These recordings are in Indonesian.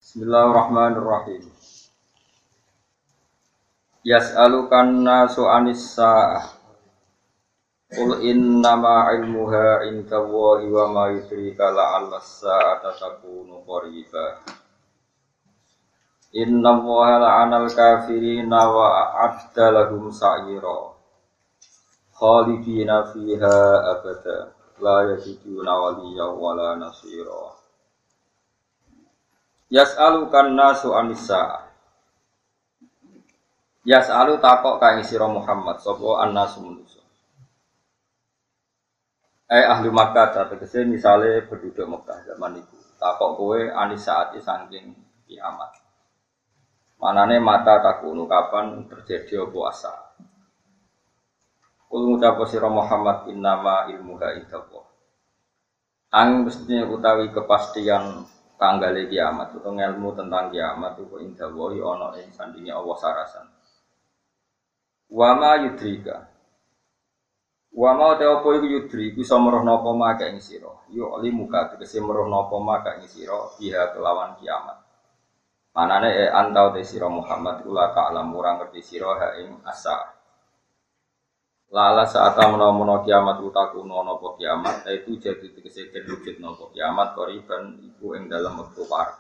Bismillahirrahmanirrahim. Yas'alukan nasu 'anis sa'ah. Qul innama 'ilmuha 'indallahi wa ma yudrika la'alla as-sa'ata takunu qariba. Innallaha la'anal kafirina wa a'adda lahum sa'ira. Khalidina fiha abada. La yajiduna waliyyan wa la nasira. Yas'alukan nasu 'anis sa'ah. Yas'alu takok ka ing sira Muhammad sapa annasu manusa. Ahli Makkah tegese misale penduduk Mekah zaman itu. Takok kowe anis saati saking kiamat. Manane mata takunu kapan terjadi apa asa. Kul ngucap sira Muhammad innama ilmuha indallah. Mestine utawi kepastian tanggale kiamat utawa ilmu tentang kiamat itu indallah ana ing sandinge Allah sarasan. Wa ma yudrika. Wa ma te apa iku yudri bisa meroh napa mak ing sira. Yo limuka tegese meroh napa mak ing sira biha kelawan kiamat. Manane antau te sira Muhammad kula ta'lam ora ngerti sira ha ing asa. Lala saat menawa kiamat utakuno napa kiamat itu jadi tegese wujud napa kiamat koriban iku ing dalam wektu parek.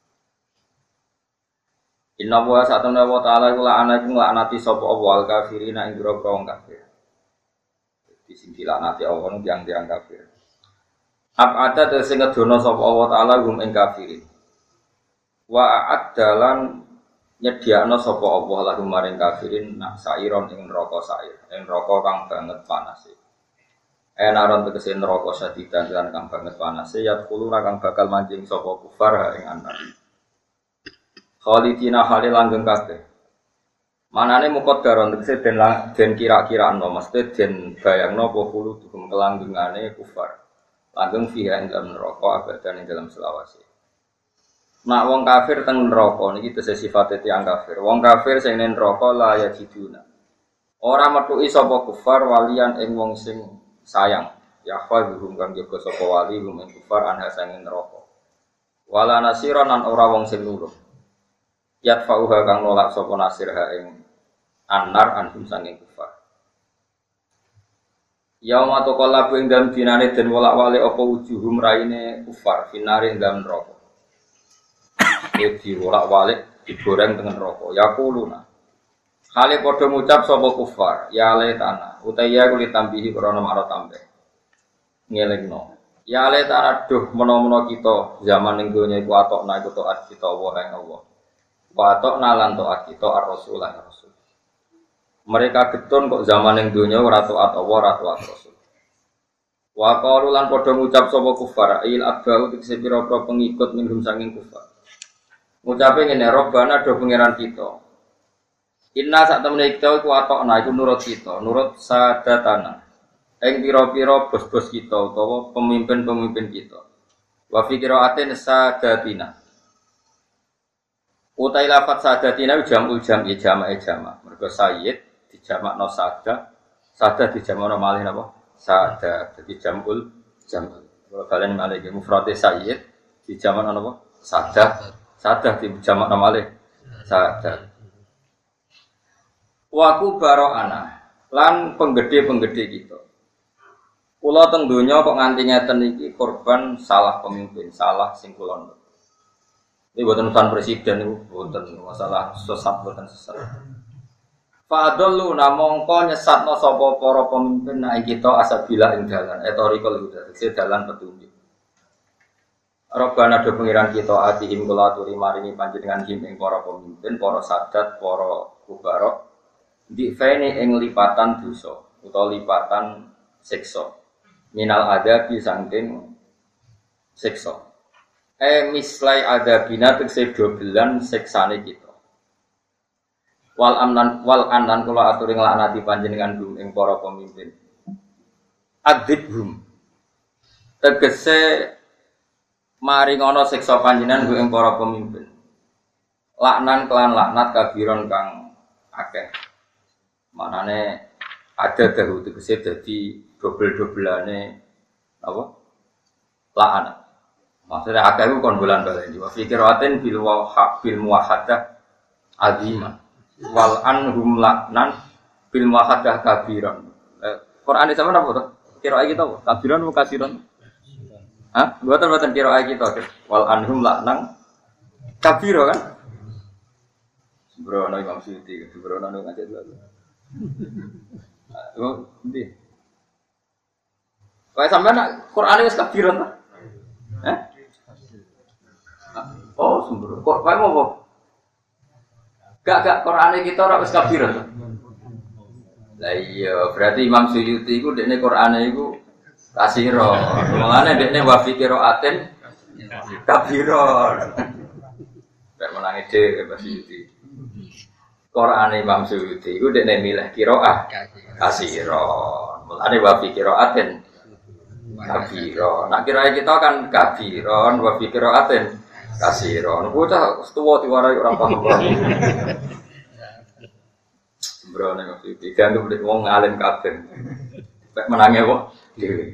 Inna wa sa'atana wa ta'ala kula anaku nglaknati sapa Allah kafirina ing grogro wong kafir. Di sing dilaknati Allah yang tiang kafir. Ab'ada tegese ngedono sapa Allah ta'ala gum ing kafirin. Wa a'addalan nyediakno sapa Allah lahum maring kafirin nak sairon ing neraka sair, ing neraka kang banget panase. Enaron tegese neraka sadidan lan kang banget panase ya kuluna kang bakal manjing sapa kufar ing anak. Khalidina halil langgeng kabeh. Manane muqaddaron tegese den kira-kiraano mesti den bayangno apa kulo dugem kelanggengane kufar. Langgeng fiha ing dalam neraka abadan ing dalam selawase. Nak wong kafir teng neraka niki tegese sifate tiyang kafir. Wong kafir sing ning neraka la yajiduna. Ora metuki sapa kufar walian ing wong sing sayang. Yahfazuhum kang jaga sapa wali hum ing kufar anha sing neraka. Wala nasiran lan ora wong sing nulung. Yatfa'uha kang nolak sapa nasirha ing anar anhum sanging kufar. Yauma taqallabu ing dalem dinane den wolak-walik apa wujuhum raine kufar finare ing dalem neraka. Iki wolak-walik digoreng dengan neraka. Yaquluna. Hale padha ngucap sapa kufar, ya le tanah, utaya kulit tambihi krana marang tambah. Ngelingno. Ya le tanah duh menawa kita zaman ning donya iku atokna iku taat kita wa ing Allah. Watok nalan to'at kita ar-rasul lan rasul. Mereka getun kok zaman yang dunia ora taat Allah ora taat rasul. Wa qalu lan padha ngucap sapa kufar il abau tegese pira-pira pengikut minhum sanging kufar. Ngucape ngene robbana do pangeran kita. Inna sak temene kita iku atokna iku nurut kita, nurut sadatana. Ing pira-pira bos-bos kita utawa pemimpin-pemimpin kita. Wa fi qira'atin sadatina. Utai lafat sadatina jamul jam'i jama'i jama'. Mergo sayyid dijamakno sada, sada dijamakno malih napa? Sada. Jadi jamul jam'ul. Kalau kalian malih mufrade sayyid dijamakno napa? Sada. Sada dijamakno malih sada. Wa kubara'ana lan penggede-penggede kita. Kula teng donya kok nganti ngeten iki korban salah pemimpin, salah sing kula. Ini buatan urusan presiden itu buatan masalah sesat buatan sesat. Fadlu namongko nyesatno sapa para pemimpin nek kita asabila ing dalan etorikal huda tegese dalan petunjuk. Robbana do pengiran kita atihim kula aturi maringi panjenengan him ing para pemimpin, para sadat, para kubarok di fene ing lipatan dosa utawa lipatan siksa. Minal adabi saking siksa. Mislai adabina tegese dobelan seksane kita. Wal anan kula aturi nglaknati panjenengan gum ing para pemimpin. Adzibhum. Tegese maring ana siksa panjenengan gum ing para pemimpin. Laknan kelan laknat kabiron kang akeh. Manane ada dahu tegese dadi dobel-dobelane apa? Laknat. Maksudnya akeh iku kon bulan-bulan iki. Wa fi qiraatin bil muwahhadah azimah. Wal anhum la'nan bil muwahhadah kabiran. Quran sama apa to? Qiraat kita apa? Kabiran apa kasiran? Hah? Buatan qiraat kita. Wal anhum la'nan kabira kan? Sembrono Imam Suyuti, sembrono ngajak dulu. Oh, ndi? Kayak sampean nak Quran wis kabiran ta? Hah? Oh, sembrono. Kok kae apa? Gak Quran kita ora wis kabiran ta? Lah iya, berarti Imam Suyuti iku dekne Qur'ane iku kasira. Mulane dekne wa fi qiraatin kabira. Nek menangi dhewe Imam Suyuti. Qur'ane Imam Suyuti iku dekne milih qiraah kasira. Mulane wa fi qiraatin kabira. Nek kirae kita kan kabiron wa fi qiraatin kasira. Niku cah tuwa diwarai ora paham. Sembrono waktu itu, dianggap oleh wong alim kabeh. Pek menangi kok dhewe.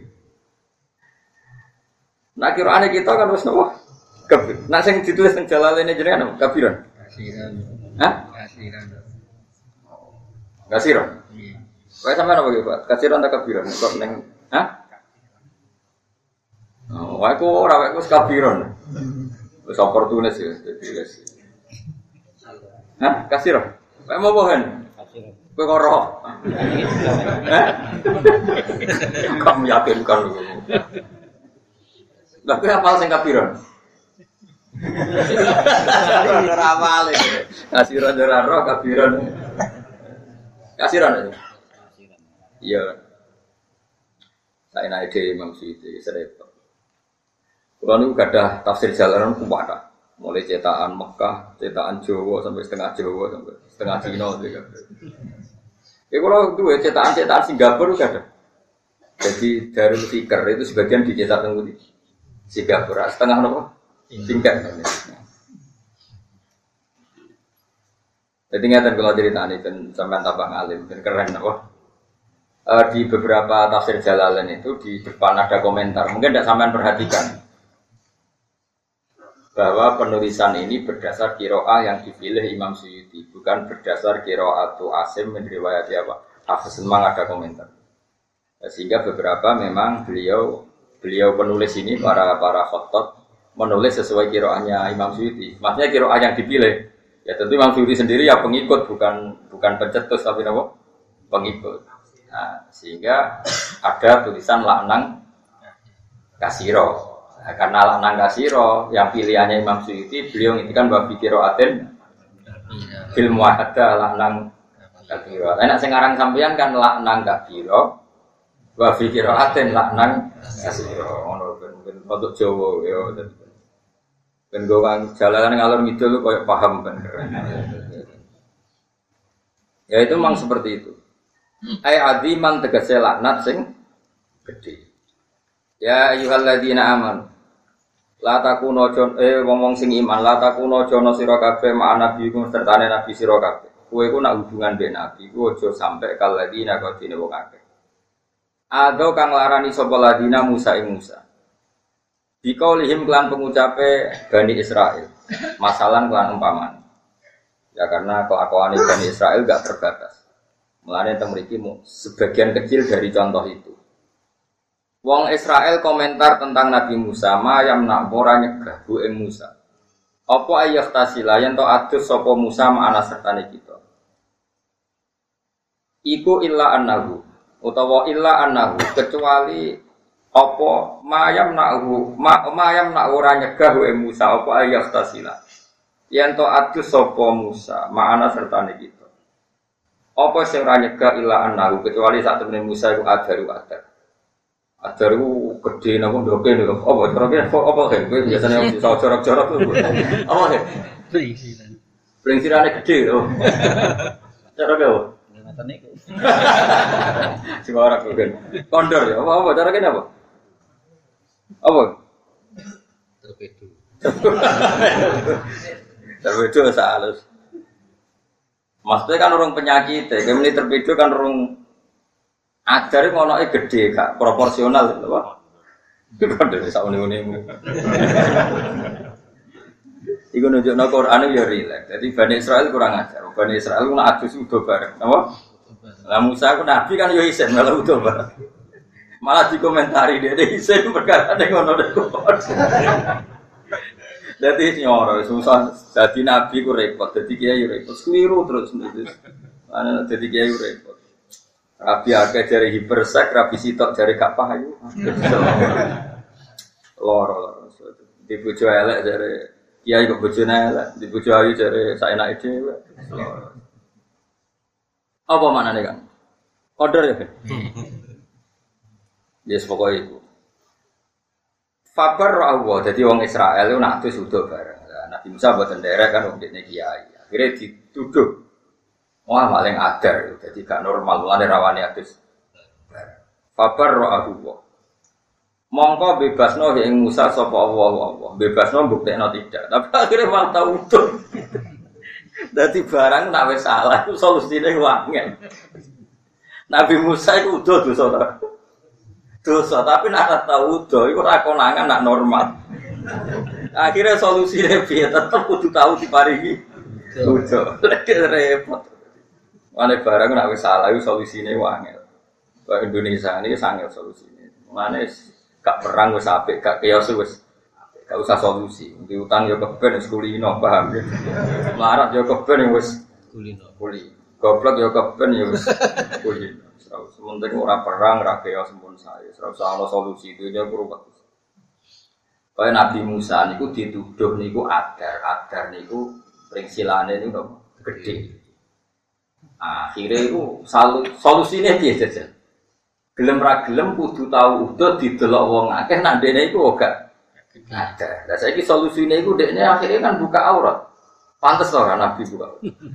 Nah kirane kita kan wis napa? Kabir. Nah sing ditulis nang Jalalain jenengan kabiran. Kasiran. Hah? Kasiran. Kasiran. Iya. Kayak sampean apa iki, Pak? Kasiran ta kabiran? Kok ning hah? Oh, wae kok ora wae wis kabiran. Wis oportunis ya ditulis. Hah? Kasiran. Wae mau bohen. Kowe karo. Kamu yakinkan lho. Lah kowe hafal sing kabiran. Ora hafal iki. Kasiran ora ro kabiran. Kasiran. Iya. Saya naik ke Imam Suyuti serepot. Kalau niku gadah tafsir Jalalan kuwata. Mulai cetakan Mekah, cetakan Jawa sampai setengah Jawa sampai setengah Cina juga. Ya kalau itu cetakan Singapura juga ada. Jadi Darul Fikr itu sebagian dicetak di Singapura, setengah apa? Singkat. Jadi ngeten kalau cerita ini dan sampai tambah ngalim dan keren apa? Di beberapa tafsir Jalalain itu di depan ada komentar, mungkin tidak sampean perhatikan. Bahwa penulisan ini berdasar qiraah yang dipilih Imam Suyuti, bukan berdasar qiraatu Asim min riwayat apa. Hafiz memang ada komentar. Sehingga beberapa memang beliau penulis ini para khattat menulis sesuai qiraahnya Imam Suyuti. Maksudnya qiraah yang dipilih. Ya tentu Imam Suyuti sendiri ya pengikut bukan pencetus tapi apa? Pengikut. Nah, sehingga ada tulisan laknang kasiro. Nah, karena laknang kasiro yang pilihannya Imam Suyuti, beliau ngintikan bahwa qiraatin fil muwahhadah laknang kabira. Nek sing aran sampeyan kan laknang kabira wa fi qiraatin laknang kasira. Ngono ben untuk Jawa ya. Ben gowang Jalalan ngalor ngidul koyo paham ben. Ya itu memang seperti itu. Ai aziman tegese laknat sing gedhe. Ya ayyuhalladzina amanu la takuno wong-wong sing iman la takuno jono sira kabeh ma nabi ku sertane nabi sira kabeh. Kowe ku nak hubungan mbek nabi ku aja sampe kaladina kodine wong akeh. Ado kang larani sapa ladina Musa ing Musa. Dikaulihim kelan pengucape Bani Israil. Masalan kelan umpaman. Ya karena kelakuan Bani Israil gak terbatas. Mulane teng mriki sebagian kecil dari contoh itu. Wong Israel komentar tentang Nabi Musa, mayam nak ora nyegah bu ing Musa. Apa ayah tasila yen to adus sapa Musa ma'ana sertane kita. Iku illa annahu utawa illa annahu kecuali apa mayam nak ora nyegah bu ing Musa apa ayah tasila. Yen to adus sapa Musa ma'ana sertane kita. Apa sing ora nyegah illa annahu kecuali sak temene Musa iku adaru adar. Ajaru gede napa ndoke niku. Apa carane apa kowe biasane iso jorok-jorok lho. Apa he? Prinsirane gede lho. Cara gawe. Ngoten niku. Sing ora kowe. Kondor ya. Apa cara kene apa? Apa? Torpedo. Torpedo salus. Maksudnya kan orang penyakit, kemudian torpedo kan orang ajar ngonoke gede gak proporsional lho, Pak. Kode sak une-une. Iku nunjukno Quran ya rileks. Jadi Bani Israil kurang ajar. Bani Israil ku nak adus udo bareng. Napa? Lah Musa ku nabi kan yo isen malah udo bareng. Malah dikomentari dia isen perkara ning ngono dek. Dadi nyoro susah. Dadi nabi ku repot, dadi kiai repot. Keliru terus niku. Ana dadi kiai repot. Rabi akeh jare hipersek, rabi sitok jare gak payu. Loro. Di bojo elek jare kiai kok bojone elek, di bojo ayu jare saenake dhewe. Apa maknane kan? Order ya, Kan? Yes pokoke iku. Fabar Allah, jadi wong Israel itu nak tuh sudah bareng. Nabi Musa buatan daerah kan wong dekne kiai. Akhirnya dituduh, wah paling adar, jadi gak normal. Mulane rawani atus. Fabar Allah. Mongko bebasno ing Musa sapa Allah. Bebasno buktekno tidak. Tapi akhirnya malah tau utuh. Dadi barang nak wis salah iku solusine wangen. Nabi Musa iku udah dosa, tapi nak tau udah iku ora konangan nak normal. Akhirnya solusine piye tetep kudu tahu diparingi udah. Repot. Mane barang nak wis salah iku solusine wangen. Kok Indonesia ini sangat solusine. Mane gak perang wis apik, gak chaos wis apik. Gak usah solusi. Diutang yo keben wis kulino, paham ya. Melarat yo keben wis kulino. Goblok yo keben yo wis kulino. Sementing ora perang, ora chaos sempun sae. Ora usah ana solusi itu yo ruwet. Kaya Nabi Musa niku dituduh niku adar niku pringsilane niku gedhe. Akhire iku solusine piye jajan? Gelem ra gelem kudu tau udah didelok wong akeh nak ndene iku gak ada. Lah saiki solusine iku dekne akhire kan buka aurat. Pantes ora Nabi buka.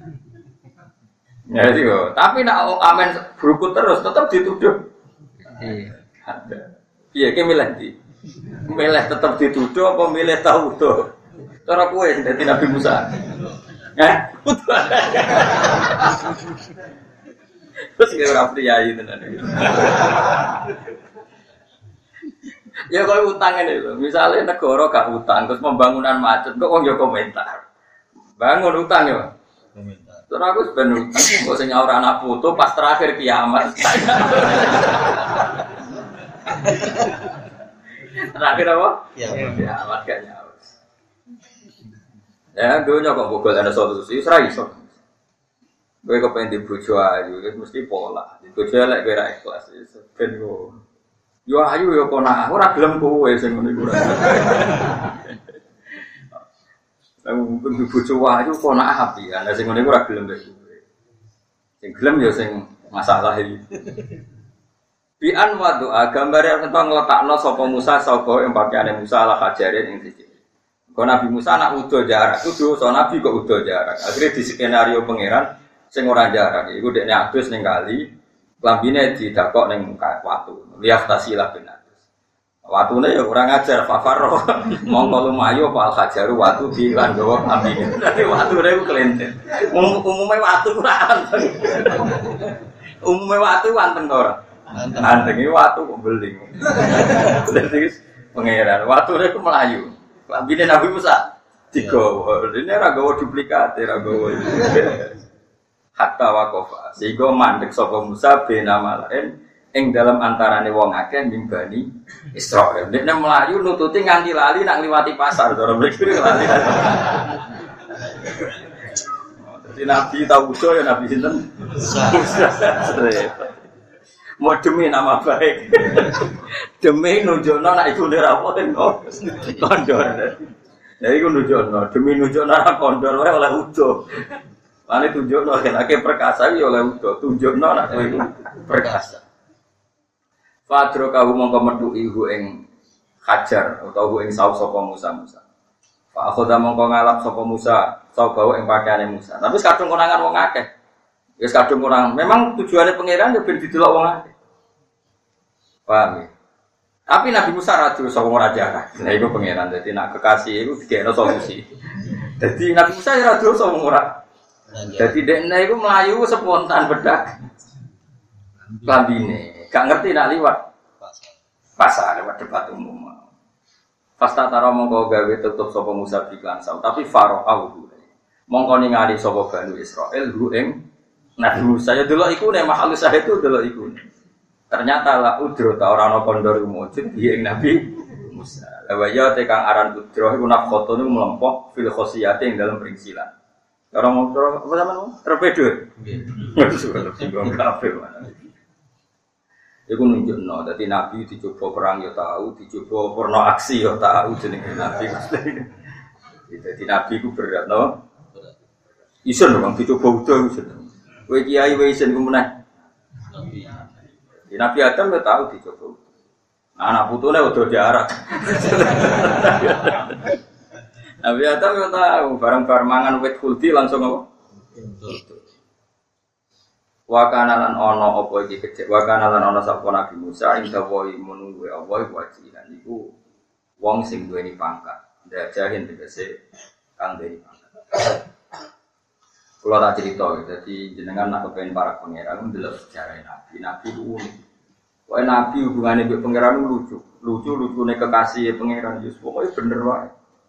Ya itu. Tapi nak amen berukut terus tetap dituduh. Ada. Piye ki milih ndi? Milih tetap dituduh apa milih tau udah? Cara kowe dadi Nabi Musa. Terus kira ora priyayi tenan. Ya kalau utang ini lho, misalnya negara gak utang terus pembangunan macet, kok wong yo komentar. Bangun utang ya. Komentar. Terus aku ben utang kok sing nyaur anak foto pas terakhir kiamat. Terakhir apa? Kiamat gak nyaur. Ya, dunia kok bogol ada solusi, ora iso. Kowe kepen di bojo ayu, mesti pola. Di bojo elek kowe ra ikhlas, ben yo. Yo ayu yo kona, ora gelem kowe sing ngene iku ora. Lah mungkin di bojo ayu kona api, ana sing ngene iku ora gelem kowe. Sing gelem yo sing masalah iki. Bi'an wa doa gambare tentang ngletakno sapa Musa sapa ing pakaiane Musa ala hajarin ing siji. Kok Nabi Musa nak udo jarak, kudu so Nabi kok udo jarak. Akhire di skenario pangeran sing ora jarak iku dekne adus ning kali lambine didakok ning watu liaftasilah benatus watune ya ora ngajar fafaro mongko lumayu apa hajaru watu di lan gawa lambine dadi watune iku kelenten umume watu ora anteng umume watu anteng to ora anteng iki watu kok beling dadi pangeran watune iku melayu lambine Nabi Musa digawa dene ora gawa duplikate ora gawa hatta waqafa sehingga mandek sapa Musa benama lain ing dalam antarane wong akeh nimbani Israil. Dekne mlayu nututi nganti lali nak ngliwati pasar cara mriki lali. Dadi Nabi tauso ya Nabi sinten? Musa. Mau demi nama baik. Demi nunjukno nek iku ndera apa kondor. Ya iku nunjukno demi nunjukno nek kondor wae oleh udo. Lane tunjukno nek perkasa iki oleh udo, tunjukno nek kowe iku perkasa. Fadro kawu mongko metuki hu ing hajar utawa ing saus sapa Musa. Pak khoda mongko ngalap sapa Musa, sapa ing pakaiane Musa. Tapi kadung konangan wong akeh. Wis kadung kurang. Memang tujuane pangeran yo ben didelok wong akeh. Paham ya? Tapi Nabi Musa ra dosa wong ora jarak. Lah iku pangeran dadi nak kekasih iku dikene solusi. Dadi Nabi Musa ora dosa wong ora. Jadi dekne iku mlayu spontan bedak lambine, gak ngerti nak liwat pasar lewat debat umum. Pasta taro mongko gawe tutup sapa Musa biklan saw, tapi Faraau mongko ningali sapa Bani Israil hu ing Nabi Musa ya delok iku nek makhluk saya itu delok iku. Ternyata la udro ta ora ana kondor mujud ing Nabi Musa. Lawa ya tekang aran udro iku nafkotone mlempok fil khosiyate ing dalam perincilan. Orang mau apa sampean terpedo. Nggih. Sudah singgung kabeh mana. Iku nunjukno dadi Nabi dicoba perang ya tahu, dicoba porno aksi ya tahu jenenge Nabi. Dadi Nabi ku berat no. Isen wong dicoba udah isen. Kowe kiai wae isen ku meneh. Nabi Adam ya tahu dicoba. Anak putune udah diarak. Nabi Adam ya tahu barang-barang mangan wit kulti langsung apa? Wa kana lan ana apa iki kecek wa kana lan ana sapa Nabi Musa ing dawuh menunggu Allah wajilan iku wong sing duweni pangkat ndajahin tegese kang duweni pangkat. Kula tak crito dadi jenengan nak kepen para pangeran ndelok sejarah Nabi. Nabi ku unik. Wae Nabi hubungane mbek pangeran lucu. Lucu-lucune kekasih pangeran Yusuf pokoke bener wae.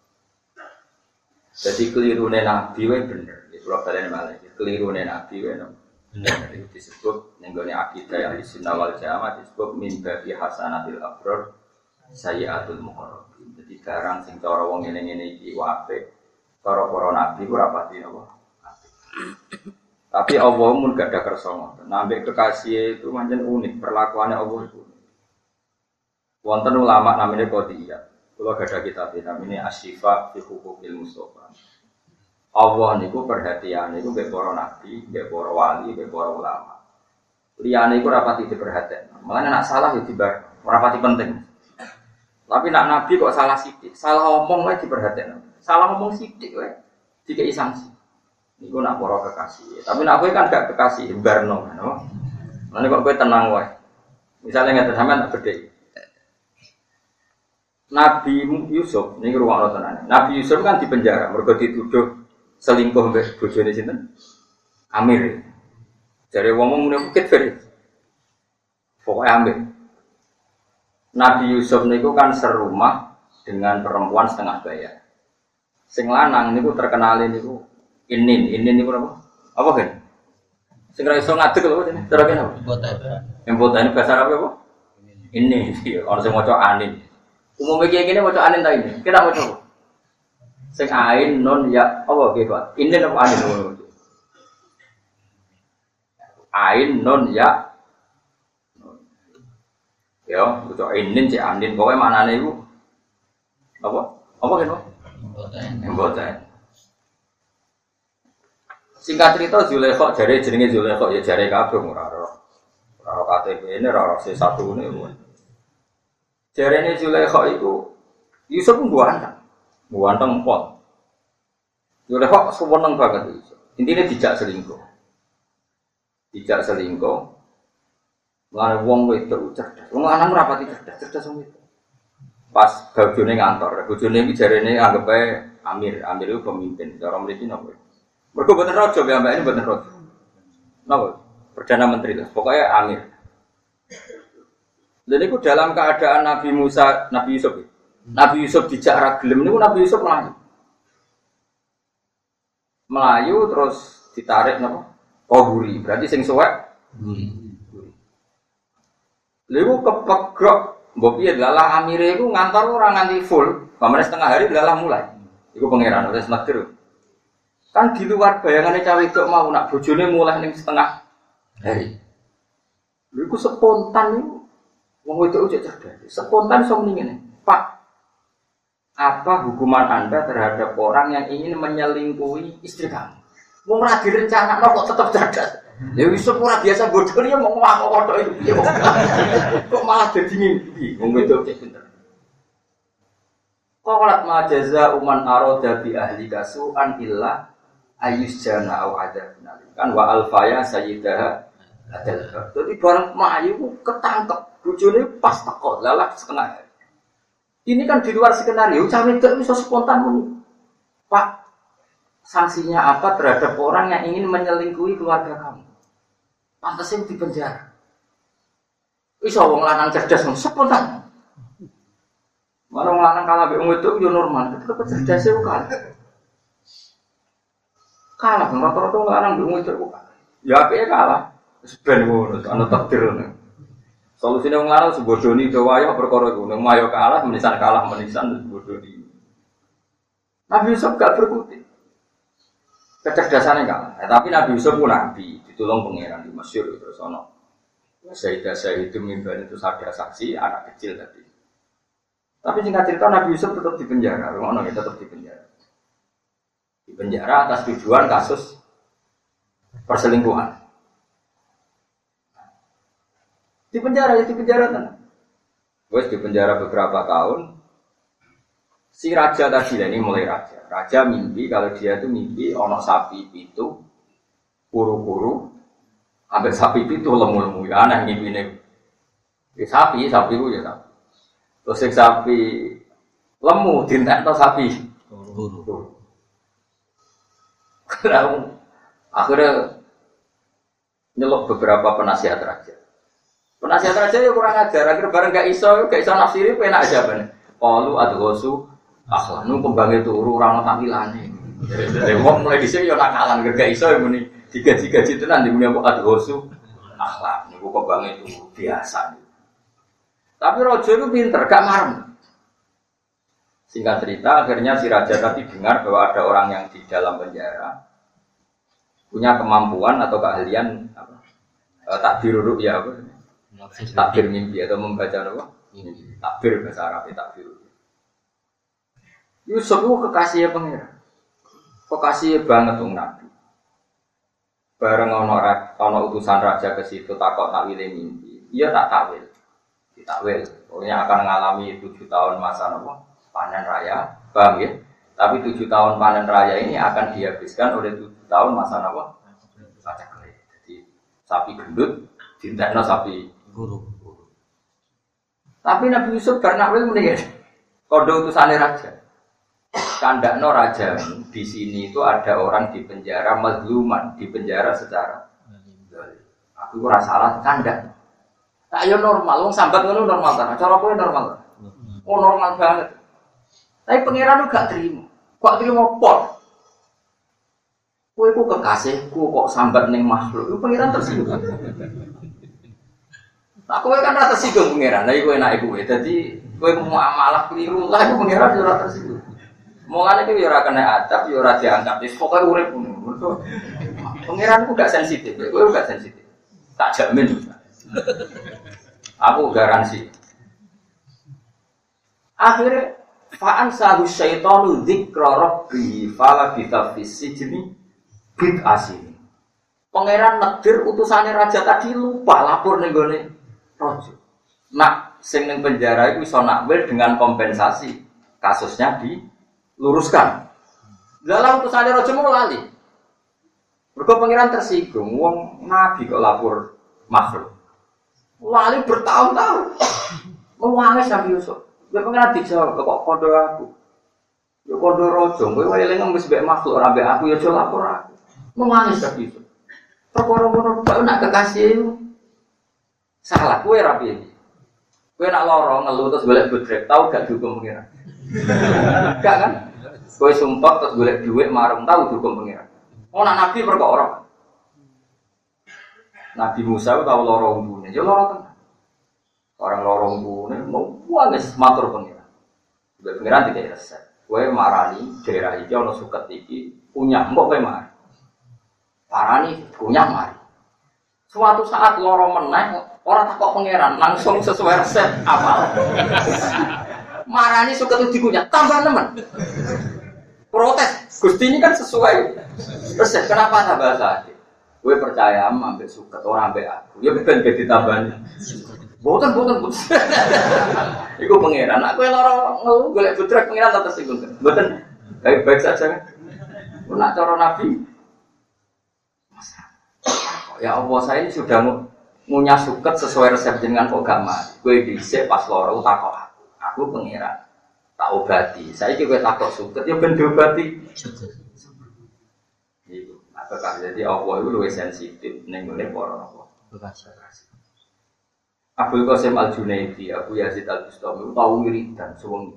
Jadi kelirune Nabi wae bener. Kula baleni malih kelirune Nabi wae benar itu disebut nenggone akidah yang Ahlussunnah wal Jamaah disebut min babi hasanatil abrar sayyiatul muqarrabin. Jadi barang sing cara wong ngene-ngene iki apik, cara para nabi ku rapati apa? Tapi Allah mun gak ada kersa ngoten. Nambah kekasih itu pancen unik, perlakuannya Allah itu. Wonten ulama namanya Qadiyah. Kula gak ada kitab namanya Asy-Syifa fi Huquqil Mustofa. Allah niku perhatian niku mbek para nabi, mbek para wali, mbek para ulama. Liyane iku rapati diperhatekno. Mulane nek salah ya dibar, ora pati penting. Tapi nek nabi kok salah sithik, salah omong wae diperhatekno. Salah omong sithik wae dikei sanksi. Niku nak para kekasih. Tapi nek kowe kan gak kekasih, barno, no. Mulane kok kowe tenang wae. Misale ngeten sampean tak bedhek. Nabi Yusuf niku rumakno tenan. Nabi Yusuf kan dipenjara mergo dituduh selingkuh mbek bojone sinten? Amir. Jare wong mune bukit fer. Pokoke Amir. Nabi Yusuf niku kan serumah dengan perempuan setengah bayar. Sing lanang niku terkenal niku Inin niku apa? Apa kan? Sing ra iso ngadeg lho jenenge. Cara kene apa? Embotan bahasa Arab apa? Ini iki ora sing maca anin. Umume iki ngene maca anin ta ini. Kita maca sing ain non ya apa nggih Pak? Ini apa ain ngono. Ain non ya. Ya, itu ainin cek anin pokoke maknane iku apa? Apa kene? Mboten. Singkat cerita Zulaikha jare jenenge Zulaikha ya jare kabeh ora KTP ini ora C1 ne. Jarene Zulaikha iku Yusuf Buanteng pot. Yole kok seneng banget itu. Intinya dijak selingkuh. Mulane wong wedok cerdas. Wong lanang ora pati cerdas wong wedok. Pas bojone ngantor, bojone iki jarene anggap ae Amir itu pemimpin. Cara mriki napa? Mergo boten raja ya mbak ini boten raja. Napa? Perdana Menteri lah. Pokoknya Amir. Dan itu dalam keadaan Nabi Yusuf. Nabi Yusuf dijak ra gelem niku Nabi Yusuf melayu terus ditarik napa? Kohuri. Berarti sing suwek guri. Lha kepegrok mbok piye lalah amire iku ngantor ora nganti full, pamane setengah hari lalah mulai. Iku pangeran wis makdir. Kan di luar bayangane cah wedok mau nak bojone mulai ning setengah hari. Lha iku spontan niku wong wedok ujek cerdas. Spontan iso muni ngene. Pak, apa hukuman Anda terhadap orang yang ingin menyelingkuhi istri kamu? Wong ora direncanakno kok tetep cerdas. Ya wis ora biasa bodoh ya mau ngomong itu. Kok malah dadi ngimpi. Wong wedok cek pinter. Qalat ma jazaa man arada bi ahli kasu'an illa ayyusjana au adzabun alim. Kan wa alfaya sayyidaha adal. Dadi bareng mayu ketangkep bojone pas teko lalah setengah. Ini kan di luar skenario, cawe itu bisa spontan muni. Pak, sanksinya apa terhadap orang yang ingin menyelingkuhi keluarga kamu? Pantasnya di penjara. Bisa wong lanang cerdas spontan. Marang lanang kalah mbek wong wedok yo normal, tetep cerdase kok kalah. Kalah bang rata-rata lanang mbek wong wedok kok. Ya apike kalah. Wis ben ngono, ana takdir ngono. Solusine wong lanang sebodoni do wayo perkara iku, nek mayo kalah menisan sebodoni. Nabi Yusuf gak berkutik. Kecerdasannya kalah. Tapi Nabi Yusuf pun nabi, ditolong pangeran di Mesir terus ono. Sayyidah itu mimban itu ada saksi anak kecil tadi. Tapi singkat cerita Nabi Yusuf tetap di penjara, rumah tetap di penjara. Di penjara atas tujuan kasus perselingkuhan. Di penjara tenang. Wes di penjara beberapa tahun. Si raja tadi ini mulai raja. Raja mimpi kalau dia itu mimpi ono sapi itu kuru-kuru, ambil sapi itu lemu-lemu ya aneh mimpinya. Sapi itu ya sapi. Terus sapi lemu dintekno sapi kuru. Akhirnya nyelok beberapa penasihat raja. Penasihat raja ya kurang ajar, akhirnya bareng gak iso nafsiri penak aja bener. Qalu adghasu akhlanu kembange turu ora ono tampilane. Dari wong mulai dhisik ya nakalan gak iso muni digaji-gaji tenan muni apa adghasu akhlak niku kembange turu biasa. Tapi raja itu pinter, gak marem. Singkat cerita, akhirnya si raja tadi dengar bahwa ada orang yang di dalam penjara punya kemampuan atau keahlian takbir ru'ya apa? Takbir mimpi atau membaca apa? Takbir bahasa Arab takbir. Yusuf itu kekasihnya pangeran. Kekasihnya banget tuh Nabi. Bareng ono utusan raja ke situ takok takwile mimpi. Iya tak takwil. Ditakwil. Pokoknya akan mengalami 7 tahun masa panen raya, paham ya? Tapi 7 tahun panen raya ini akan dihabiskan oleh 7 tahun masa pacaklik. Jadi sapi gendut, dintekno sapi guru. Tapi Nabi Yusuf bernakwil mendingan. Kode utusannya raja. Kandakno raja di sini itu ada orang di penjara mazluman, di penjara secara. Aku ora salah kandak. Tak yo normal, wong sambat ngono normal ta. Cara kowe normal. Oh normal banget. Tapi pangeran gak terima. Kok terima pot? Kowe ku kekasihku kok sambat ning makhluk. Iku pangeran tersinggung. Tak kowe kan ora tersinggung pangeran. Lah iku enake kowe. Dadi kowe muamalah keliru lah iku pangeran ora tersinggung. Mulane iki yo ora kena adab, yo ora diangkat. Wis pokoke urip ngono. Pangeran ku gak sensitif. Kowe gak sensitif. Tak jamin juga. Aku garansi. Akhirnya fa'an sahu syaitanu dzikra rabbi fala bitafis sijni bid asini. Pangeran negir utusannya raja tadi lupa lapor ning gone raja. Nak sing ning penjara iku iso nakwil dengan kompensasi. Kasusnya diluruskan. Dalam utusannya raja mau lali. Mergo pangeran tersinggung wong nabi kok lapor makhluk. Lali bertahun-tahun. Mewangis Nabi Yusuf. Dia pengen dijawab, kok kodo aku. Ya kodo rojo, gue eling ngemis mbek makhluk ora mbek aku ya aja lapor aku. Mewangis Nabi Yusuf. Perkara-perkara kok nak kekasih salah kowe ra piye. Kowe nak lara ngeluh terus golek bodrek, tau gak dihukum pengiran. Gak kan? Kowe sumpah terus golek dhuwit marung tau dihukum pengiran. Oh nak nabi perkara. Nabi Musa itu tahu lorong bunyi, ya lorong tenan. Orang lorong bunyi, mau wangis matur pengiran. Sudah pengiran tidak resep. Kue marani daerah itu ono suket iki punya, mbok kue mari. Marani punya mari. Suatu saat lorong meneh, orang takut pengiran langsung sesuai resep apal. Marani suket itu dikunyah, tambah nemen. Protes, Gusti ini kan sesuai resep. Kenapa tambah saja? Gue percaya ambek suket orang ambek aku. Ya ben ditambahi. Boten. Iku pangeran. Aku lara ngeluh golek budrek pangeran tak tersinggung. Boten. Baik saja kan. Nak cara nabi. Ya Allah, saya ini sudah ngunyah suket sesuai resep jenengan kok gak mari. Gue dhisik pas lara takok aku. Aku pangeran. Tak obati. Saiki kowe takok suket ya ben diobati. Jadi Allah itu lebih sensitif nengone para kekasih. Abdul Qasim Al-Junaidi, Abu Yazid Al-Bustami tahu wiridan suwengi.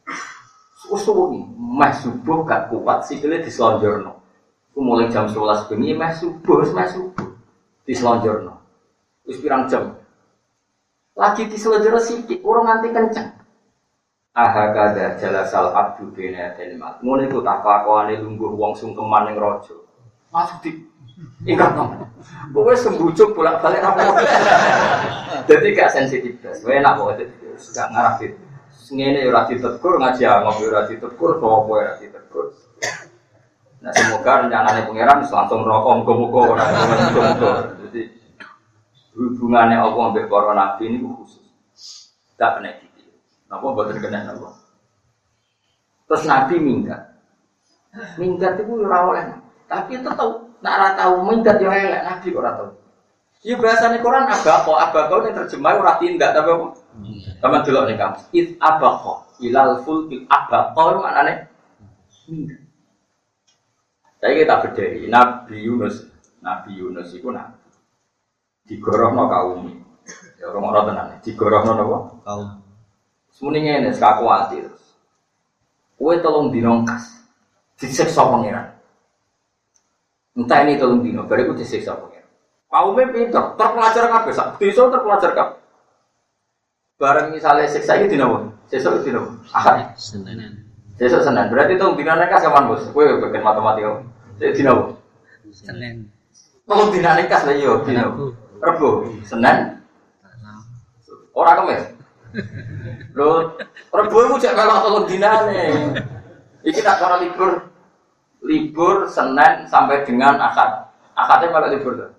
Suwi, meh subuh gak kuat sikile dislonjorno. Ku mulai jam 11 bengi meh subuh dislonjorno. Wis pirang jam. Lagi dislonjorno sithik, urung nganti kenceng. Ahakada jalasal abdu bina telimat. Ngono iku tak kelakuane lungguh wong sungkeman ning raja. Masuk di ingat nang. Kowe sembujuk bolak-balik apa. Dadi gak sensitif. Enak kok gak ngarah dit. Ngene ora ditegur ngaji ngombe ora ditegur apa ora ditegur. Nah semoga rencanane pangeran langsung rokok muga-muga ora muga-muga. Jadi hubungane Allah ambek para nabi niku khusus. Tak kena iki. Napa boten kena napa? Terus nabi minggat. Minggat iku ora oleh. Tapi tetep nek ora tau minggat yo elek nabi kok ora tau. Iki bahasane Quran abaqo ning terjemah ora tindak tapi apa? Sama delok ning kamus. It abaqo ilal fulki abaqo maknane minggat. Saiki kita bedheki Nabi Yunus iku nabi. Digorohno kaum. Ya ora ora tenan. Digorohno napa? Kaum. Semune ngene sak kuwati terus. Kowe tolong dinongkas. Disiksa pangeran. Entah ini tolong dino, bariku disiksa pangeran. Kaume pinter, terpelajar kabeh sak desa terpelajar kabeh. Bareng misale siksa iki dino apa? Sesuk dino. Ahad. Senin. Sesuk Senin. Berarti tolong dino nek kapan Bos? Kowe bagian matematika. Sesuk dino apa? Senin. Tolong dino nek kas lha yo dino. Rebo, Senin. Ora Kamis. Lho, Rebo iku jek melok tolong dinane. Iki tak cara libur Senin sampai dengan Ahad. Ahadnya malah libur tuh.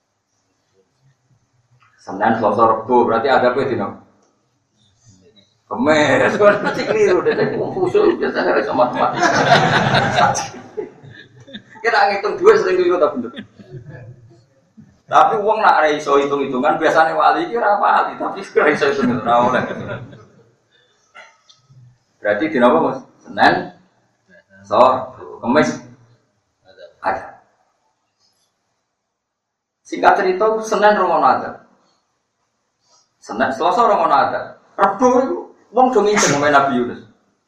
Senin, Selasa, Rabu, berarti ada apa dino? Kamis, kan masih keliru deh. Khusus biasanya harus matematika. Kita ngitung dua sering keliru tak bener. Tapi uang nak reiso hitung-hitungan biasanya wali kira apa? Tapi sekarang reiso hitung-hitungan oleh. Berarti dino apa Mas? Senin, Selasa, Kamis ada. Singkat cerita Senin romono ada. Senin Selasa romono ada. Rabu wong do nginceng sama Nabi Yunus.